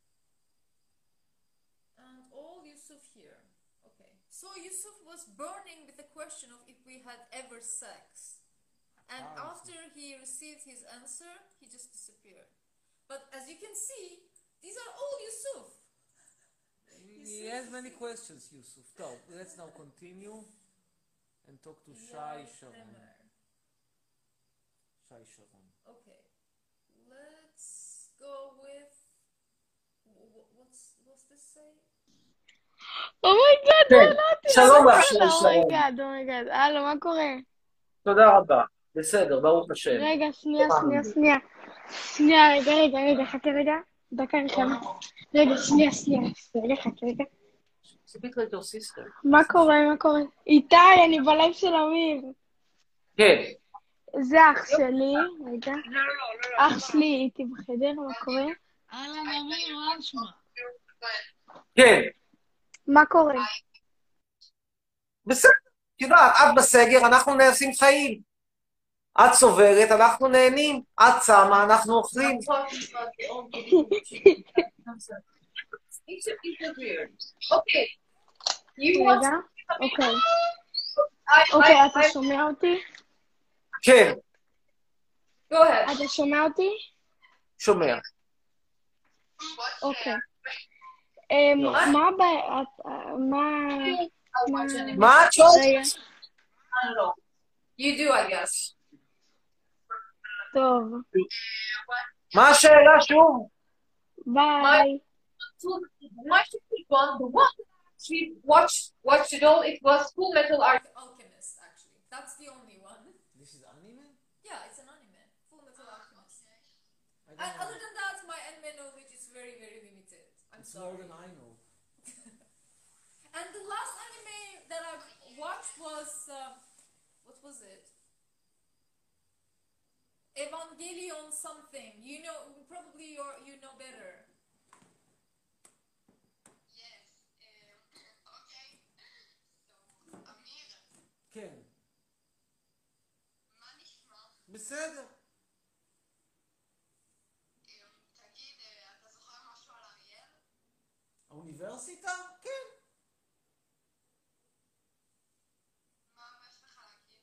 And all Yusuf here. Okay. So Yusuf was burning with the question of if we had ever sex. And Ah, after he received his answer, he just disappeared. But as you can see, these are all Yusuf. He has many questions, Yusuf. So, let's now continue and talk to Shai Sharon. Bremer. Shai Sharon. Okay. Let's go with wh- wh- what's what's this say? אומייגאד, לא ידעתי. שלום לך, שיר שרון. אומייגאד, אומייגאד. הלו, מה קורה? תודה רבה. בסדר, ברוך השם. רגע, שנייה, שנייה, שנייה. שנייה, רגע, רגע, רגע, חכה רגע. דקה ראשונה. רגע, שנייה, שנייה. רגע, חכה רגע. Speak like your sister. מה קורה, מה קורה? איתי, אני בלייב של אמיר. כן. זה אח שלי, רגע. אח שלי איתי בחדר, מה קורה? אהלן אמיר, מה נשמע? כן. מה קורה? בסדר. את יודעת, את בסגר, אנחנו נעשים חיים. את סובלת, אנחנו נהנים. את צמה, אנחנו אוכלים. It's a bit weird. Okay. You want רגע, אוקיי. I, אוקיי, I, אתה I, שומע אותי? כן, Go ahead. אתה שומע אותי? שומע. אוקיי. אמ, לא. מה הבעיה? את- מה... I'll watch מה... anime. מה את שואלת? רגע, I don't know. You do, I guess. טוב. מה השאלה שוב? ביי. So, my favorite one, the one that we watched, watched it all, it was Full Metal Alchemist. Alchemist, actually. That's the only one. This is anime? Yeah, it's an anime. Full Metal Alchemist. I And don't know. other than that, my anime knowledge is very, very limited. I'm It's more sorry. than I know. And the last anime that I watched was uh, what was it? Evangelion something. You know, probably you you know better. כן. בסדר. תגיד, אתה זוכר משהו על אריאל? האוניברסיטה? כן. מה יש לך להגיד?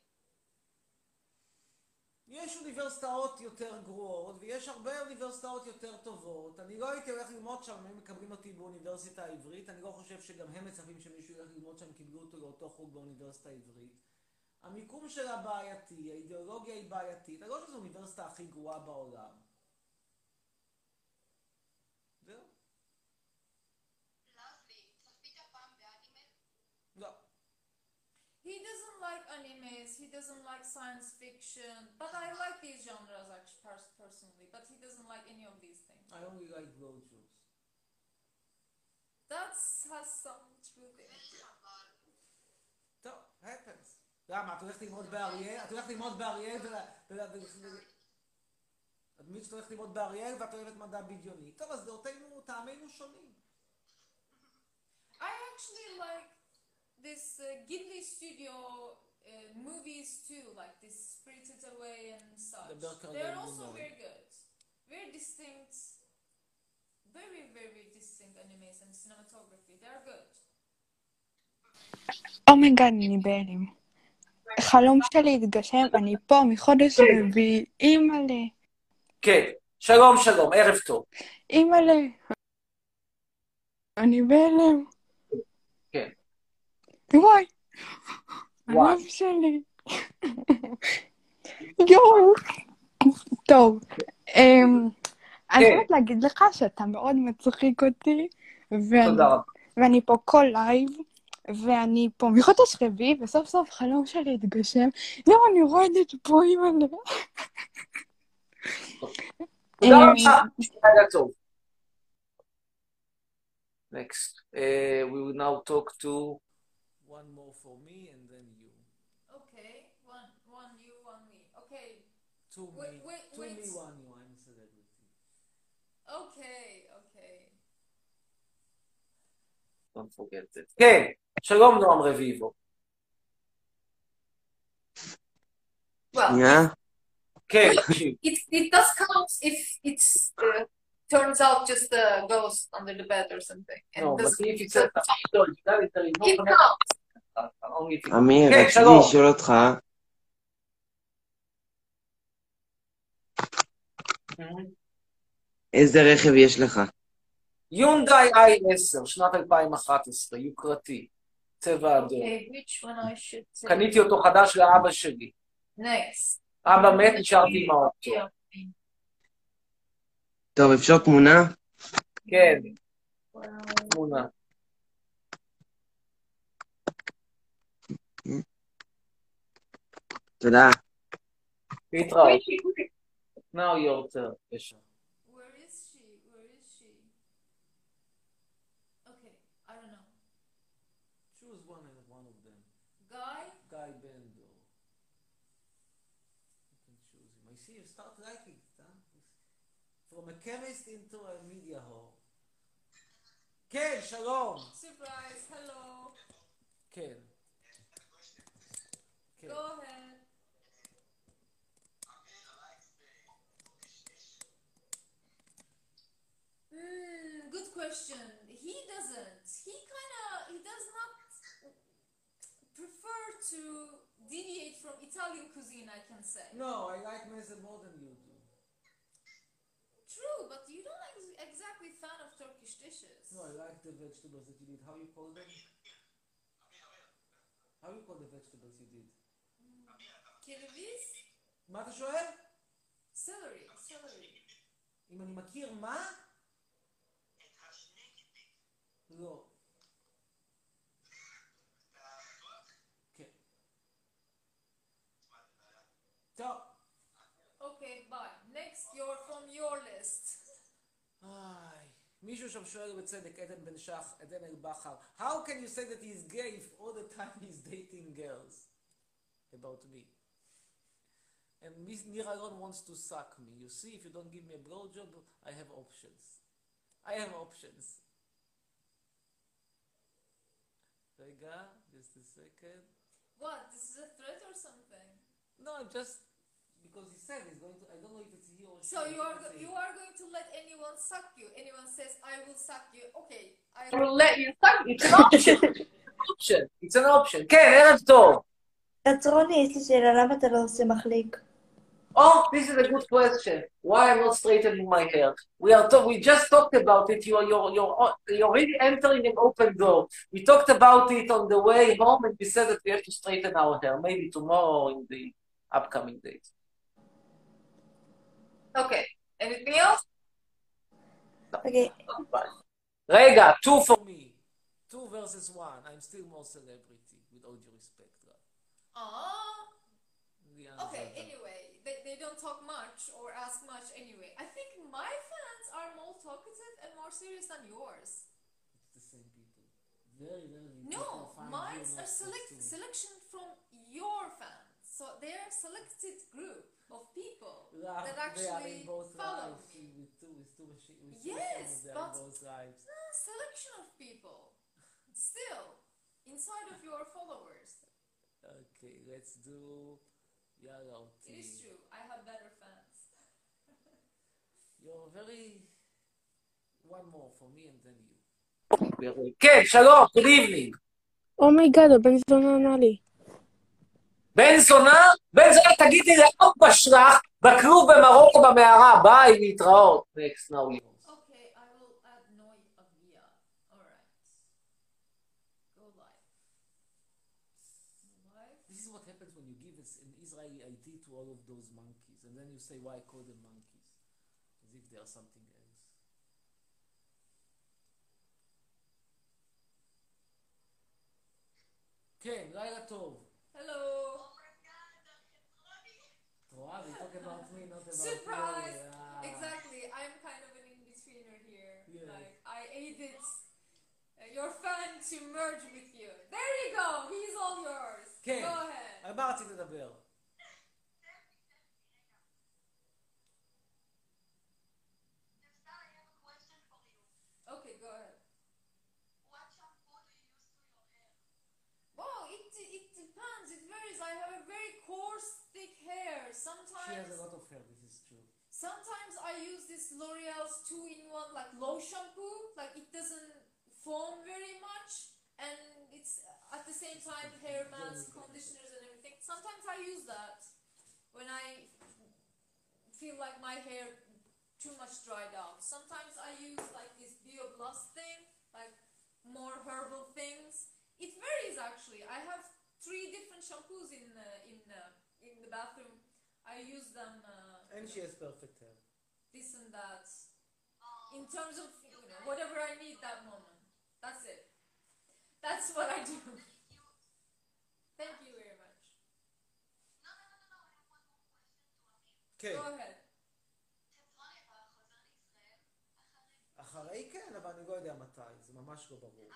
יש אוניברסיטאות יותר גרועות, ויש הרבה אוניברסיטאות יותר טובות. אני לא הייתי הולך ללמוד שם, הם מקבלים אותי באוניברסיטה העברית. אני לא חושב שגם הם מצפים שמישהו ילך ללמוד שם, קיבלו אותו לאותו חוג באוניברסיטה העברית. המיקום שלה בעייתי, האידיאולוגיה היא בעייתית. אני לא חושב שזו האוניברסיטה הכי גרועה בעולם. זהו? לסלי, צפית פעם באנימה? לא. He doesn't like animes, he doesn't like science fiction, but I like these genres actually pers- personally, but he doesn't like any of these things. I only like blowjobs. That has some truth in it. טוב, happens. למה? את הולכת ללמוד באריאל? את הולכת ללמוד באריאל אדמית שאת הולכת ללמוד באריאל ואת אוהבת מדע בדיוני. טוב, אז דעותינו, טעמינו שונים. I actually like this uh, Ghibli studio uh, movies too, like this Spirited Away and such. They're also very good. Very distinct, very, very distinct animes and cinematography. They're good. אומייגאד, אני בהלם. חלום שלי התגשם, אני פה מחודש רביעי, אימא'לה. כן, שלום שלום, ערב טוב. אימא'לה. אני בהלם. כן. וואי. הלב שלי. יואו. טוב. אני חייבת להגיד לך שאתה מאוד מצחיק אותי. תודה רבה. ואני פה כל לייב. ואני פה מחודש רביעי, וסוף סוף חלום שלי התגשם. יואו, אני רועדת פה, אימא'לה. תודה רבה, לילה טוב. Next, uh, we will now talk to one more for me and then you. Okay, one, one you, one me. Okay. Two wait, me, wait, two wait. me, one you. I'm a celebrity. Okay, okay. Don't forget it. כן, שלום נועם רביבו. Well, כן, it, it does count if it's uh, turns out just a ghost under the bed or something. And no, but doesn't- if it's a it counts. אמיר, כן, רציתי שלום. לשאול אותך, איזה רכב יש לך? יונדאי איי עשר, שנת אלפיים ואחת עשרה, יוקרתי, צבע אדום. Okay, which one I should say? קניתי אותו חדש לאבא שלי. Next. אבא מת, נשארתי עם האוטו. Yeah. טוב, אפשר תמונה? כן, תמונה. תודה. להתראות. Now your turn. בבקשה. Where is she? Where is she? Okay, I don't know. Choose one and one of them. Guy? Guy Bendo. You can choose him. I see you start liking it, huh? From a chemist into a media whore. כן, שלום. Surprise, hello. כן. כן. Go ahead. Hmm, good question. He doesn't. He kind of, he does not prefer to deviate from Italian cuisine, I can say. No, I like meze more than you do. True, but you don't ex- exactly fan of Turkish dishes. No, I like the vegetables that you did. How you call them? How you call the vegetables you did? Kereviz? מה אתה שואל? Celery, celery. אם אני מכיר מה? לא. כן. טוב. Okay, bye. Next, you're from your list. איי, מישהו שם שואל בצדק, עדן בן שח, עדן אל-בכר, How can you say that he's gay if all the time he's dating girls? About me. And Miss Nir Alon wants to suck me. You see, if you don't give me a blowjob, I have options. I have options. רגע, just a second. What? This is a threat or something? No, I'm just... because he said he's going to, I don't know if it's he or she. So you are Let's see. you are going to let anyone suck you. Anyone says I will suck you. Okay, I I will let you suck. It's an option. option. It's an option. כן, ערב טוב. עצרוני, יש לי שאלה, למה אתה לא עושה מחליק? Oh, this is a good question. Why I'm not straightening my hair? We are talk, we just talked about it. You're, you're, you're, you're already entering an open door. We talked about it on the way home and we said that we have to straighten our hair. Maybe tomorrow or in the upcoming days. Okay. Anything else? Okay. רגע, two for me. Two versus one. I'm still more celebrity, with all due respect. Ah. Yeah, Okay. Anyway, they they don't talk much or ask much anyway. I think my fans are more talkative and more serious than yours. It's the same people. Very, very. No, mine are select selection from your fans. So they're a selected group of people Yeah, that they are actually in both follow lives. me. With two, with two machines. With two Yes, machines, they are but in both lives. no, selection of people. Still, inside of your followers. Okay, let's do Yalla It is true. I have better fans. You're very... One more for me and then you. כן, שלום, good evening. אומייגאד, הבן זונה ענה לי. בן זונה? בן זונה, תגידי לאן בשלח, בכלוב במרוקו במערה, ביי, להתראות. Next, now you. Okay, I will add Noi Avia. Alright. Go live. Live. This is what happens when you give an Israeli I D to all of those monkeys, and then you say, why call them monkeys? As if they are something else. כן, לילה טוב. Hello. רואה, we talk about me, not about Surprise! you. Yeah. Exactly. I'm kind of an in-betweener here. Yeah. Like, I aided uh, your fan to merge with you. There you go. He's all yours. כן, Go ahead. על מה רצית לדבר? Okay, go ahead. Wow, it, it depends. It varies. I have a very coarse, thick hair. Sometimes... She has a lot of hair, this is true. Sometimes I use this L'Oreal's two-in-one like low shampoo, like it doesn't foam very much, and it's at the same time hair masks, conditioners, and everything. Sometimes I use that when I feel like my hair too much dried out. Sometimes I use like this BioBlast thing, like more herbal things. It varies actually. I have three different shampoos in uh, in uh, in the bathroom. I use them. Uh, And she has perfect hair. This and that. In terms of you know, whatever I need that moment. That's it. That's what I do. Thank you very much. כן. Go ahead. אחרי כן, אבל אני לא יודע מתי, זה ממש לא ברור.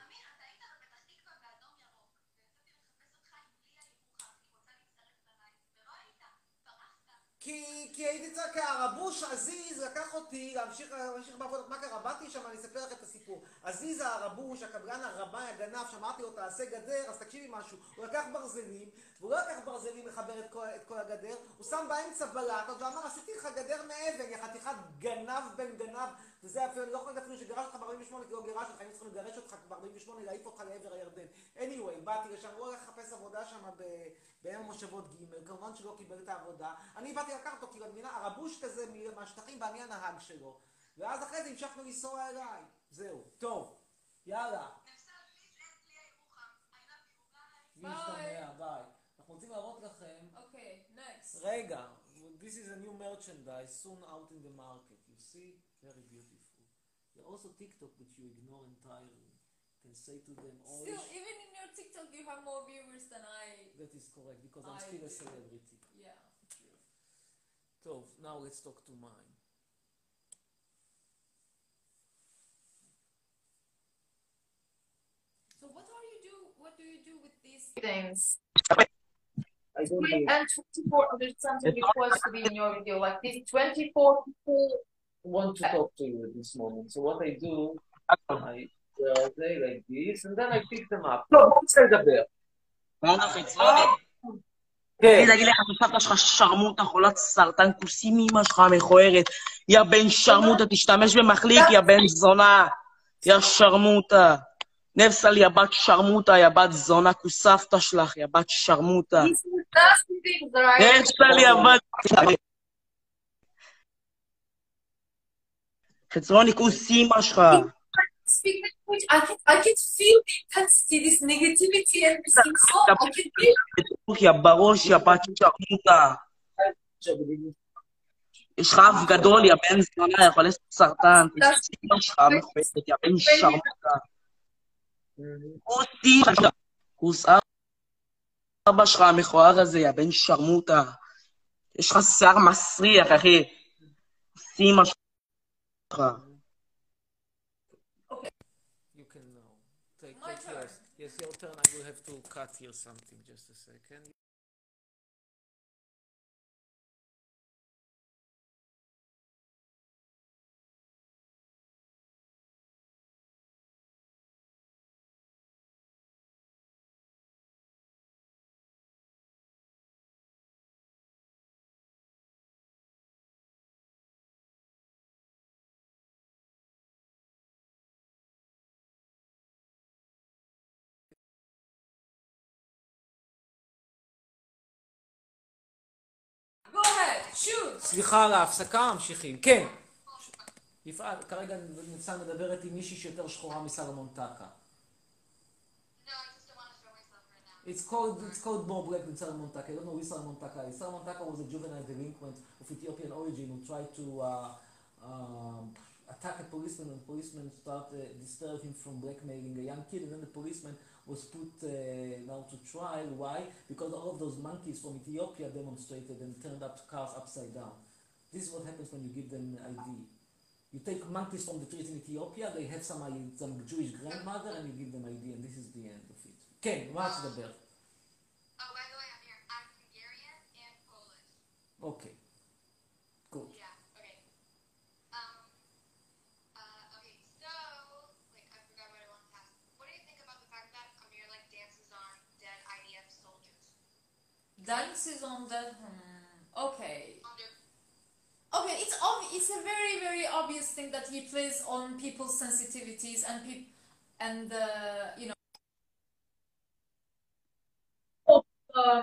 כי, כי הייתי צריך, כי הרבוש עזיז לקח אותי להמשיך, להמשיך בעבודה. מה קרה? באתי שם, אני אספר לך את הסיפור. עזיז הרבוש, הקבלן הרמאי, הגנב, שאמרתי לו, תעשה גדר, אז תקשיבי משהו. הוא לקח ברזלים, והוא לא לקח ברזלים לחבר את כל, את כל הגדר, הוא שם באמצע בלטות ואמר, עשיתי לך גדר מאבן, יא חתיכת גנב בן גנב, וזה אפילו, אני לא יכול אפילו שגרש אותך ב-ארבעים ושמונה, כי לא גירש אותך, היינו צריכים לגרש אותך ב-ארבעים ושמונה, להעיף אותך לעבר הירדן. anyway, באתי לשם, הוא הולך לחפש עבודה שם בעמק המושבות ג', כמובן שלא קיבל את העבודה. אני באתי לקחת אותו, כי במדינה, הרבוש כזה מהשטחים, ואני הנהג שלו. ואז אחרי זה המשכנו לנסוע אליי. זהו. טוב. יאללה. משתמע, ביי. אנחנו רוצים להראות לכם... אוקיי, next. רגע. This is a new merchandise soon out in the market. You see? Very beautiful. There are also TikTok which you ignore entirely. You can say to them all... Still, even in your TikTok you have more viewers than I... That is correct, because I'm I still a do. celebrity. Yeah. טוב, now let's talk to mine. So what are you do? What do you do with these Things. I don't Three know. and twenty-four other something request to be in your video. Like these twenty-four people want to talk to you at this moment. So what I do, I uh, say like this, and then I pick them up. לא, בוא נצא לדבר. תגיד, תגיד לך, הסבתא שלך שרמוטה, חולת סרטן, כוסים מאמא שלך המכוערת. יא בן שרמוטה, תשתמש במחליק, יא בן זונה. יא שרמוטה. נפסל, יא בת שרמוטה, יא בת זונה, כוסבתא שלך, יא בת שרמוטה. נפסל, יא בת... חצרוני, כוס אימא שלך. Speak language, I can, I can feel the intensity, this negativity and this insult. I can feel יא בראש, יא בת שרמוטה. יש לך אף גדול, יא בן זונה, יכול לעשות סרטן. כוס אימא שלך המכוערת, יא בן שרמוטה. כוס אימא שלך. כוס אבא שלך המכוער הזה, יא בן שרמוטה. יש לך שיער מסריח, אחי. כוס אימא שלך. You can know. Take, take yours. Yes, your turn. I will have to cut here something. Just a second. Go ahead, shoot. סליחה על ההפסקה, ממשיכים. כן. יפעת, כרגע ניצן מדברת עם מישהי שיותר שחורה מסלומון טקה. It's called, it's called more black than Salomon Taka. I don't know who Salomon Taka is. Salomon Taka was a juvenile delinquent of Ethiopian origin who tried to uh, um, attack a policeman, and policeman started uh, disturb him from blackmailing a young kid, and then the policeman was put uh, now to trial. Why? Because all of those monkeys from Ethiopia demonstrated and turned up cars upside down. This is what happens when you give them I D. You take monkeys from the streets in Ethiopia, they have some, some Jewish grandmother, and you give them I D, and this is the end of it. כן, מה את תדבר? אוקיי. Good. Dances on that. Hmm. Okay. Okay, it's obvi- It's a very very obvious thing that he plays on people's sensitivities and peop and uh, you know. Um,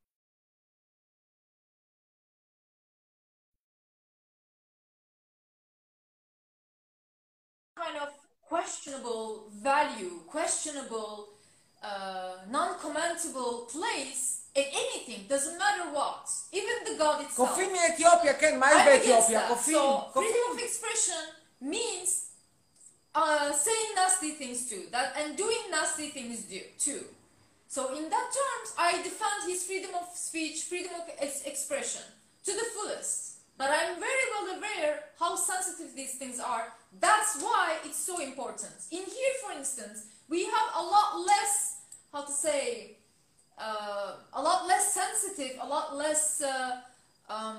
kind of questionable value, questionable, uh, non-commentable place in anything, doesn't matter what, even the God itself. קופים מאתיופיה, כן, מה יש I'm against באתיופיה? that. קופים, So קופים. freedom of expression means uh, saying nasty things too, that and doing nasty things do, too. So in that terms, I defend his freedom of speech, freedom of ex- expression to the fullest. But I'm very well aware how sensitive these things are. That's why it's so important. In here, for instance, we have a lot less, how to say, uh, a lot less sensitive, a lot less, uh, um,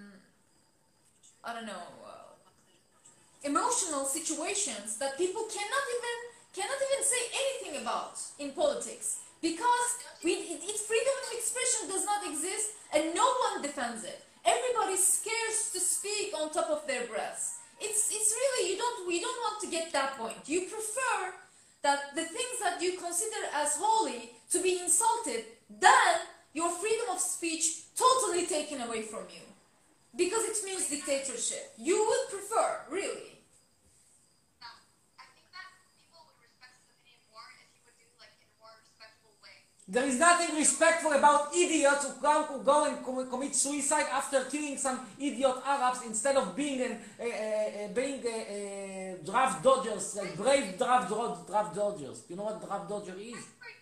I don't know, uh, emotional situations that people cannot even cannot even say anything about in politics. Because we, it, it, freedom of expression does not exist and no one defends it. Everybody's scared to speak on top of their breaths. It's, it's really, you don't, we don't want to get that point. You prefer that the things that you consider as holy to be insulted, then your freedom of speech totally taken away from you. Because it means dictatorship. You would prefer, really. There is nothing respectful about idiots who go, who go and com- commit suicide after killing some idiot Arabs instead of being an, uh, uh, being uh, uh, draft dodgers, like brave draft, draft dodgers. You know what draft dodger is?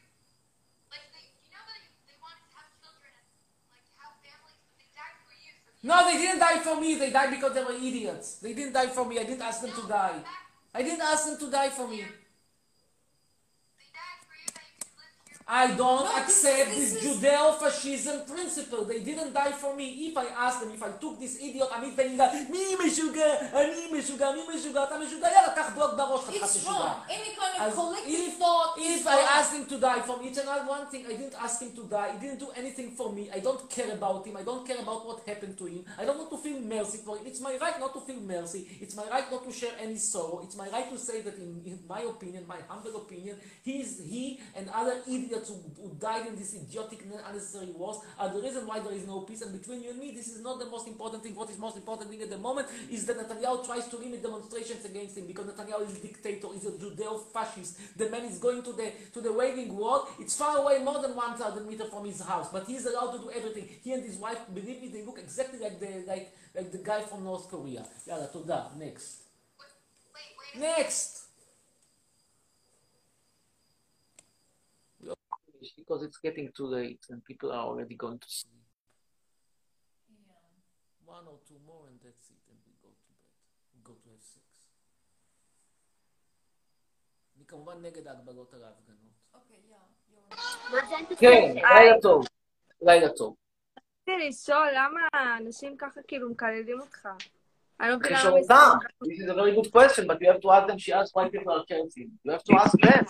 No, they didn't die for me. They died because they were idiots. They didn't die for me. I didn't ask them to die. I didn't ask them to die for me. I don't No, accept this- this, this is- Judeo-fascism principle. They didn't die for me. If I ask them, if I took this idiot, עמית בן יגאל, מי משוגע? אני משוגע, מי משוגע? אתה משוגע? יאללה, קח בלוק בראש, חתיכת It's משוגע. wrong. Any kind of As collective if, thought is if I wrong. asked him to die from each and every one thing, I didn't ask him to die. He didn't do anything for me. I don't care about him. I don't care about what happened to him. I don't want to feel mercy for him. It's my right not to feel mercy. It's my right not to share any sorrow. It's my right to say that in, in my opinion, my humble opinion, he is he and other idiots who, who died in this idiotic, unnecessary wars are the reason why there is no peace. And between you and me, this is not the most important thing. What is most important thing at the moment is that Netanyahu tries to limit demonstrations against him because Netanyahu is a dictator, is a Judeo-fascist. The man is going to the to the waving wall. It's far away, more than one thousand meters from his house, but he's allowed to do everything. He and his wife, believe me, they look exactly like the like like the guy from North Korea. Yalla, toda. Next. Next. Because it's getting too late and people are already going to sleep. Yeah. One or two more and that's it, and we go to bed. We go to have sex. אני כמובן נגד ההגבלות על ההפגנות. Okay, yeah. כן, לילה טוב. לילה טוב. רציתי לשאול למה האנשים ככה כאילו מקללים אותך. אני לא מבינה לשאול למה אותם. מסתכלים. This is a very good question, but you have to ask them, she asked why people are cursing. You have to ask them.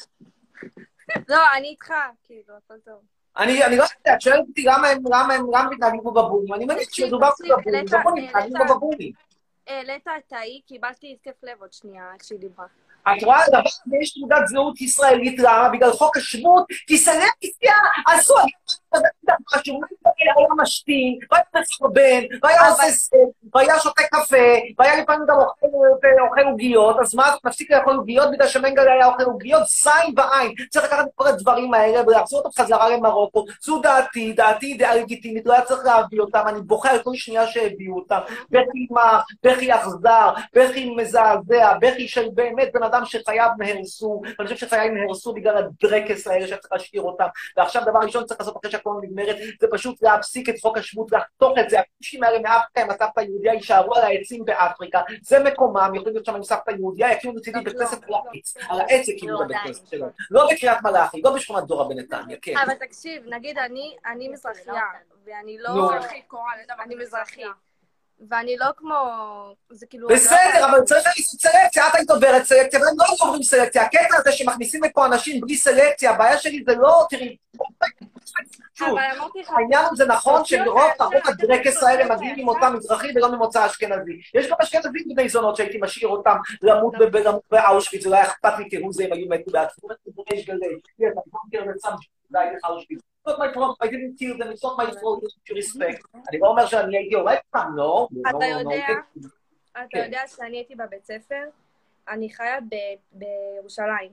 לא, אני איתך, כאילו, הכל טוב. אני אני לא יודע, את שואלת אותי למה הם למה הם גם מתנהגים פה בבומים. אני מניח שמדובר פה בבומים, זה פה מתנהגים פה בבומים. העלית את ההיא, קיבלתי התקף לב עוד שנייה, איך שהיא דיברה. את רואה, לדבר הזה יש תעודת זהות ישראלית למה? בגלל חוק השבות, כי סלקציה עשו, משהו, היה משתין, והיה מסרבן, והיה עושה סט, והיה שותה קפה, והיה לפעמים גם אוכל עוגיות, אז מה, נפסיק לאכול עוגיות בגלל שמנגל היה אוכל עוגיות, זין בעין, צריך לקחת את כל הדברים האלה ולהחזיר אותם חזרה למרוקו, זו דעתי, דעתי דעה לגיטימית, לא היה צריך להביא אותם, אני בוכה על כל שנייה שהביאו אותם, בכי מר, בכי אכזר, בכי מזעזע, בכי של באמת בן אדם שחייו נהרסו, ואני חושב שחייו נהרסו בגלל הדרקס האלה שצריך להשאיר אותם, ועכשיו דבר ראשון צריך לעשות אחרי שהכל נגמרת, זה פשוט להפסיק את חוק השבות, לחתוך את זה, הכושים האלה מאפריקה עם הסבתא היהודיה יישארו על העצים באפריקה, זה מקומם, יכולים להיות שם עם סבתא יהודיה, יקימו לצידי בית כנסת על העץ, על העץ יקימו בבית כנסת שלנו, לא בקריית מלאכי, לא בשכונת דורה בנתניה, כן. אבל תקשיב, נגיד אני מזרחייה, ואני לא... אני מזרחית. ואני לא כמו... זה כאילו... בסדר, אבל צריך לעשות סלקציה, את היית עוברת סלקציה, והם לא עוברים סלקציה. הקטע הזה שמכניסים לפה אנשים בלי סלקציה, הבעיה שלי זה לא, תראי... שוב, העניין זה נכון שרוב הדרקס האלה מגיעים ממוצא מזרחי ולא ממוצא אשכנזי. יש גם אשכנזים בני זונות שהייתי משאיר אותם למות באושוויץ, ולא היה אכפת לי תראו זה אם היו מתו בעצמו. יש גלי, יש, אני לא מכיר את סם שלי באושוויץ. It's not my problem, I didn't kill them, it's not my fault, to respect. אני לא אומר שאני הייתי הורג אותם, לא. אתה יודע, אתה יודע שאני הייתי בבית ספר, אני חיה בירושלים.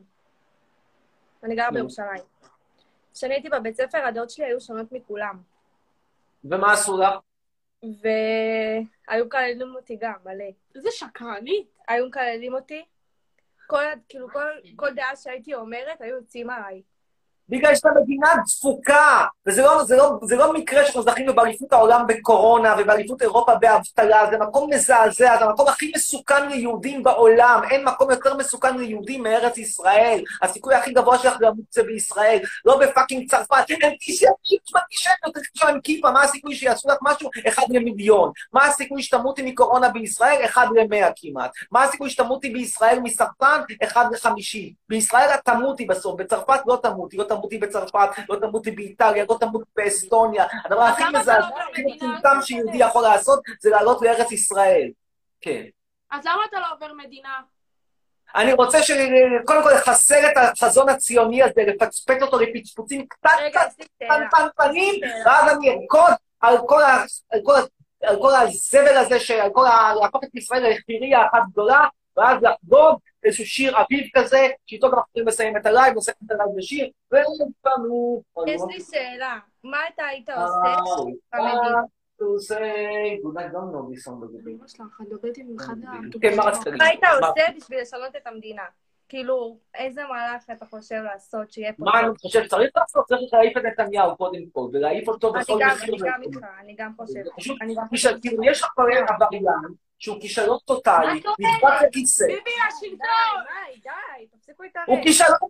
אני גרה בירושלים. כשאני הייתי בבית ספר, הדעות שלי היו שונות מכולם. ומה עשו לך? והיו מקללים אותי גם, מלא. איזה שקרנית. היו מקללים אותי. כאילו, כל דעה שהייתי אומרת, היו יוצאים עליי. בגלל שאתה מדינה דפוקה, וזה לא, זה לא, זה לא מקרה שאנחנו זכינו באליפות העולם בקורונה ובאליפות אירופה באבטלה, זה מקום מזעזע, זה המקום הכי מסוכן ליהודים בעולם, אין מקום יותר מסוכן ליהודים מארץ ישראל, הסיכוי הכי גבוה שלך למות זה בישראל, לא בפאקינג צרפת, הם תשאר, תשאר, תשאר עם כיפה, מה הסיכוי שיעשו לך משהו? אחד למיליון. מה הסיכוי שתמותי מקורונה בישראל? אחד למאה כמעט. מה הסיכוי שתמותי בישראל מסרטן? אחד לחמישים. בישראל את תמותי בסוף, בצרפת לא תמותי, לא תמותי בצרפת, לא תמותי באיטליה, לא תמותי באסטוניה. הדבר הכי מזעזע, הכי מצומצם שיהודי יכול לעשות, זה לעלות לארץ ישראל. כן. אז למה אתה לא עובר מדינה? אני רוצה שקודם כל לחסל את החזון הציוני הזה, לפצפק אותו לפצפוצים קטנטנים, ואז אני ארקוד על כל הזבל הזה, על כל להפוך את ישראל לחירייה אחת גדולה, ואז לחגוג איזשהו שיר אביב כזה, שאיתו גם יכולים לסיים את הלייב, נסיים את הלייב בשיר, ולפעמים... יש לי שאלה, מה אתה היית עושה במדינה? מה היית עושה בשביל לשנות את המדינה? כאילו, איזה מהלך אתה חושב לעשות שיהיה פה? מה אני חושב שצריך לעשות? צריך להעיף את נתניהו קודם כל, ולהעיף אותו בכל מחיר. אני גם איתך, אני גם חושבת. יש לך עבריין שהוא כישלון טוטלי, נדבק לכיסא. ביבי השלטון! די, די, תפסיקו איתנו. הוא כישלון טוטלי,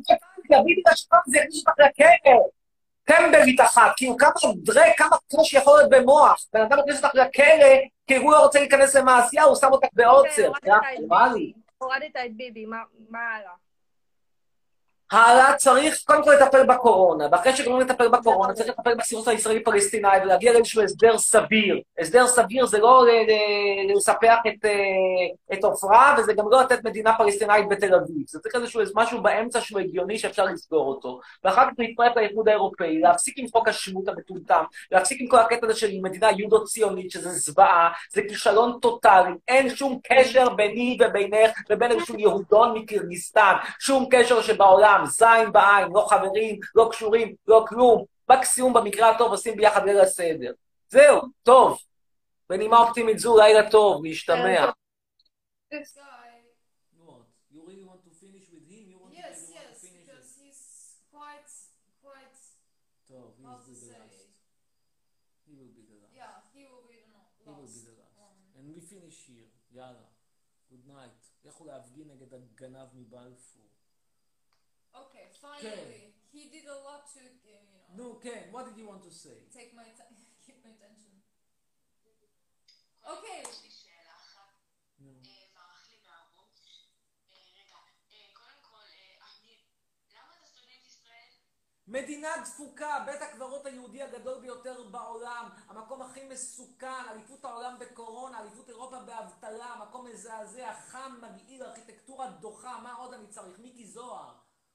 ביבי השלום זה הכניס אותך לכלא. טמבלית אחת, כאילו כמה דרק, כמה קושי יכול להיות במוח. בן אדם הכניס אותך לכלא, כי הוא לא רוצה להיכנס למעשייה, הוא שם אותך בעוצר. הורדת את ביבי, מה הלאה? הלאה צריך קודם כל לטפל בקורונה, ואחרי שגמרים לטפל בקורונה צריך לטפל בסכסוך הישראלי-פלסטיני ולהגיע לאיזשהו הסדר סביר. הסדר סביר זה לא לספח את עופרה, וזה גם לא לתת מדינה פלסטינאית בתל אביב. זה צריך איזשהו משהו באמצע שהוא הגיוני שאפשר לסגור אותו. ואחר כך להצטרף לאיחוד האירופאי, להפסיק עם חוק השבות המטומטם, להפסיק עם כל הקטע הזה של מדינה יהודו-ציונית, שזה זוועה, זה כישלון טוטלי, אין שום קשר ביני ובינך ובין איזשהו יהודון מקירגיסטן, שום קשר שבעולם. זין בעין, לא חברים, לא קשורים, לא כלום. מקסימום במקרה הטוב עושים ביחד ליל הסדר. זהו, טוב. בנימה אופטימית זו, לילה טוב, להשתמע. This guy. What? You really want to finish with him? You want Yes, to, yes, to finish because with... he's quite, quite. טוב, he how will to be the say? last. He will be the last. Yeah, he will be the last. He will be the last. And we finish here. יאללה. Good night. לכו להפגין נגד הגנב מבלפור. Okay, finally, he did a lot to, you know. No, Ken, what did you want to say? Take my time, keep my attention. Okay. יש לי שאלה אחת, ברח לי מהראש. רגע, קודם כל, אני, למה אתה סטודנט ישראל? מדינה דפוקה, בית הקברות היהודי הגדול ביותר בעולם, המקום הכי מסוכן, אליפות העולם בקורונה, אליפות אירופה באבטלה, מקום מזעזע, חם, מגעיל, ארכיטקטורה דוחה, מה עוד אני צריך? מיקי זוהר.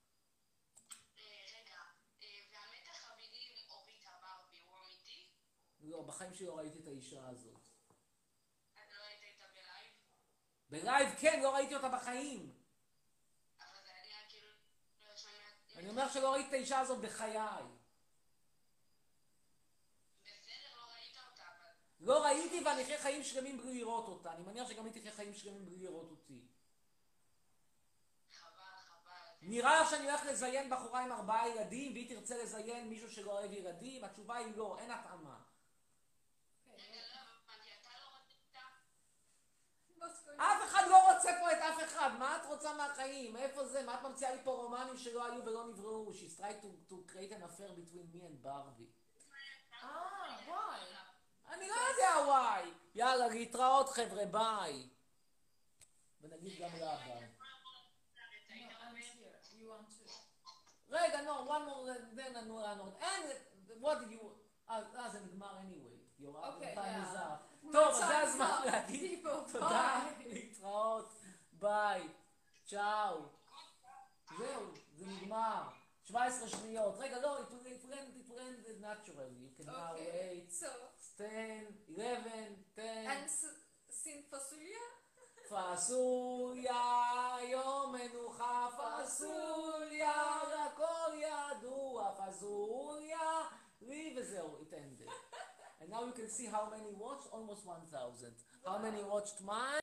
לא, בחיים שלי לא ראיתי את האישה הזאת. את לא ראית איתה בלייב? בלייב, כן, לא ראיתי אותה בחיים. אבל זה היה כאילו... אני אומר שלא ראיתי את האישה הזאת בחיי. בסדר, לא ראית אותה, אבל... לא ראיתי ואני אחרי חיים שלמים בלי לראות אותה. אני מניח שגם הייתי אחרי חיים שלמים בלי לראות אותי. חבל, חבל. נראה לך שאני הולך לזיין בחורה עם ארבעה ילדים, והיא תרצה לזיין מישהו שלא אוהב ילדים? התשובה היא לא, אין התאמה. אף אחד לא רוצה פה את אף אחד, מה את רוצה מהחיים? איפה זה? מה את ממציאה לי פה רומנים שלא היו ולא נבראו? She's tried to, to create an affair between me and Barbie. Ah, why? אני לא יודע וואי. יאללה, להתראות חבר'ה, ביי. ונגיד גם לה ביי. רגע, no, one more, then another one. And what did you... אה, זה נגמר anyway. אוקיי, יאללה. טוב, אז זה הזמן להגיד תודה, להתראות, ביי, צ'או. זהו, זה נגמר. שבע עשרה שניות. רגע, לא, it will end naturally. You can now wait. ten, eleven, ten. And sing פסוליה? פסוליה, יום מנוחה, פסוליה, הכל ידוע, פסוליה, לי וזהו, it ended. And now you can see how many watched, almost one thousand. How many watched mine?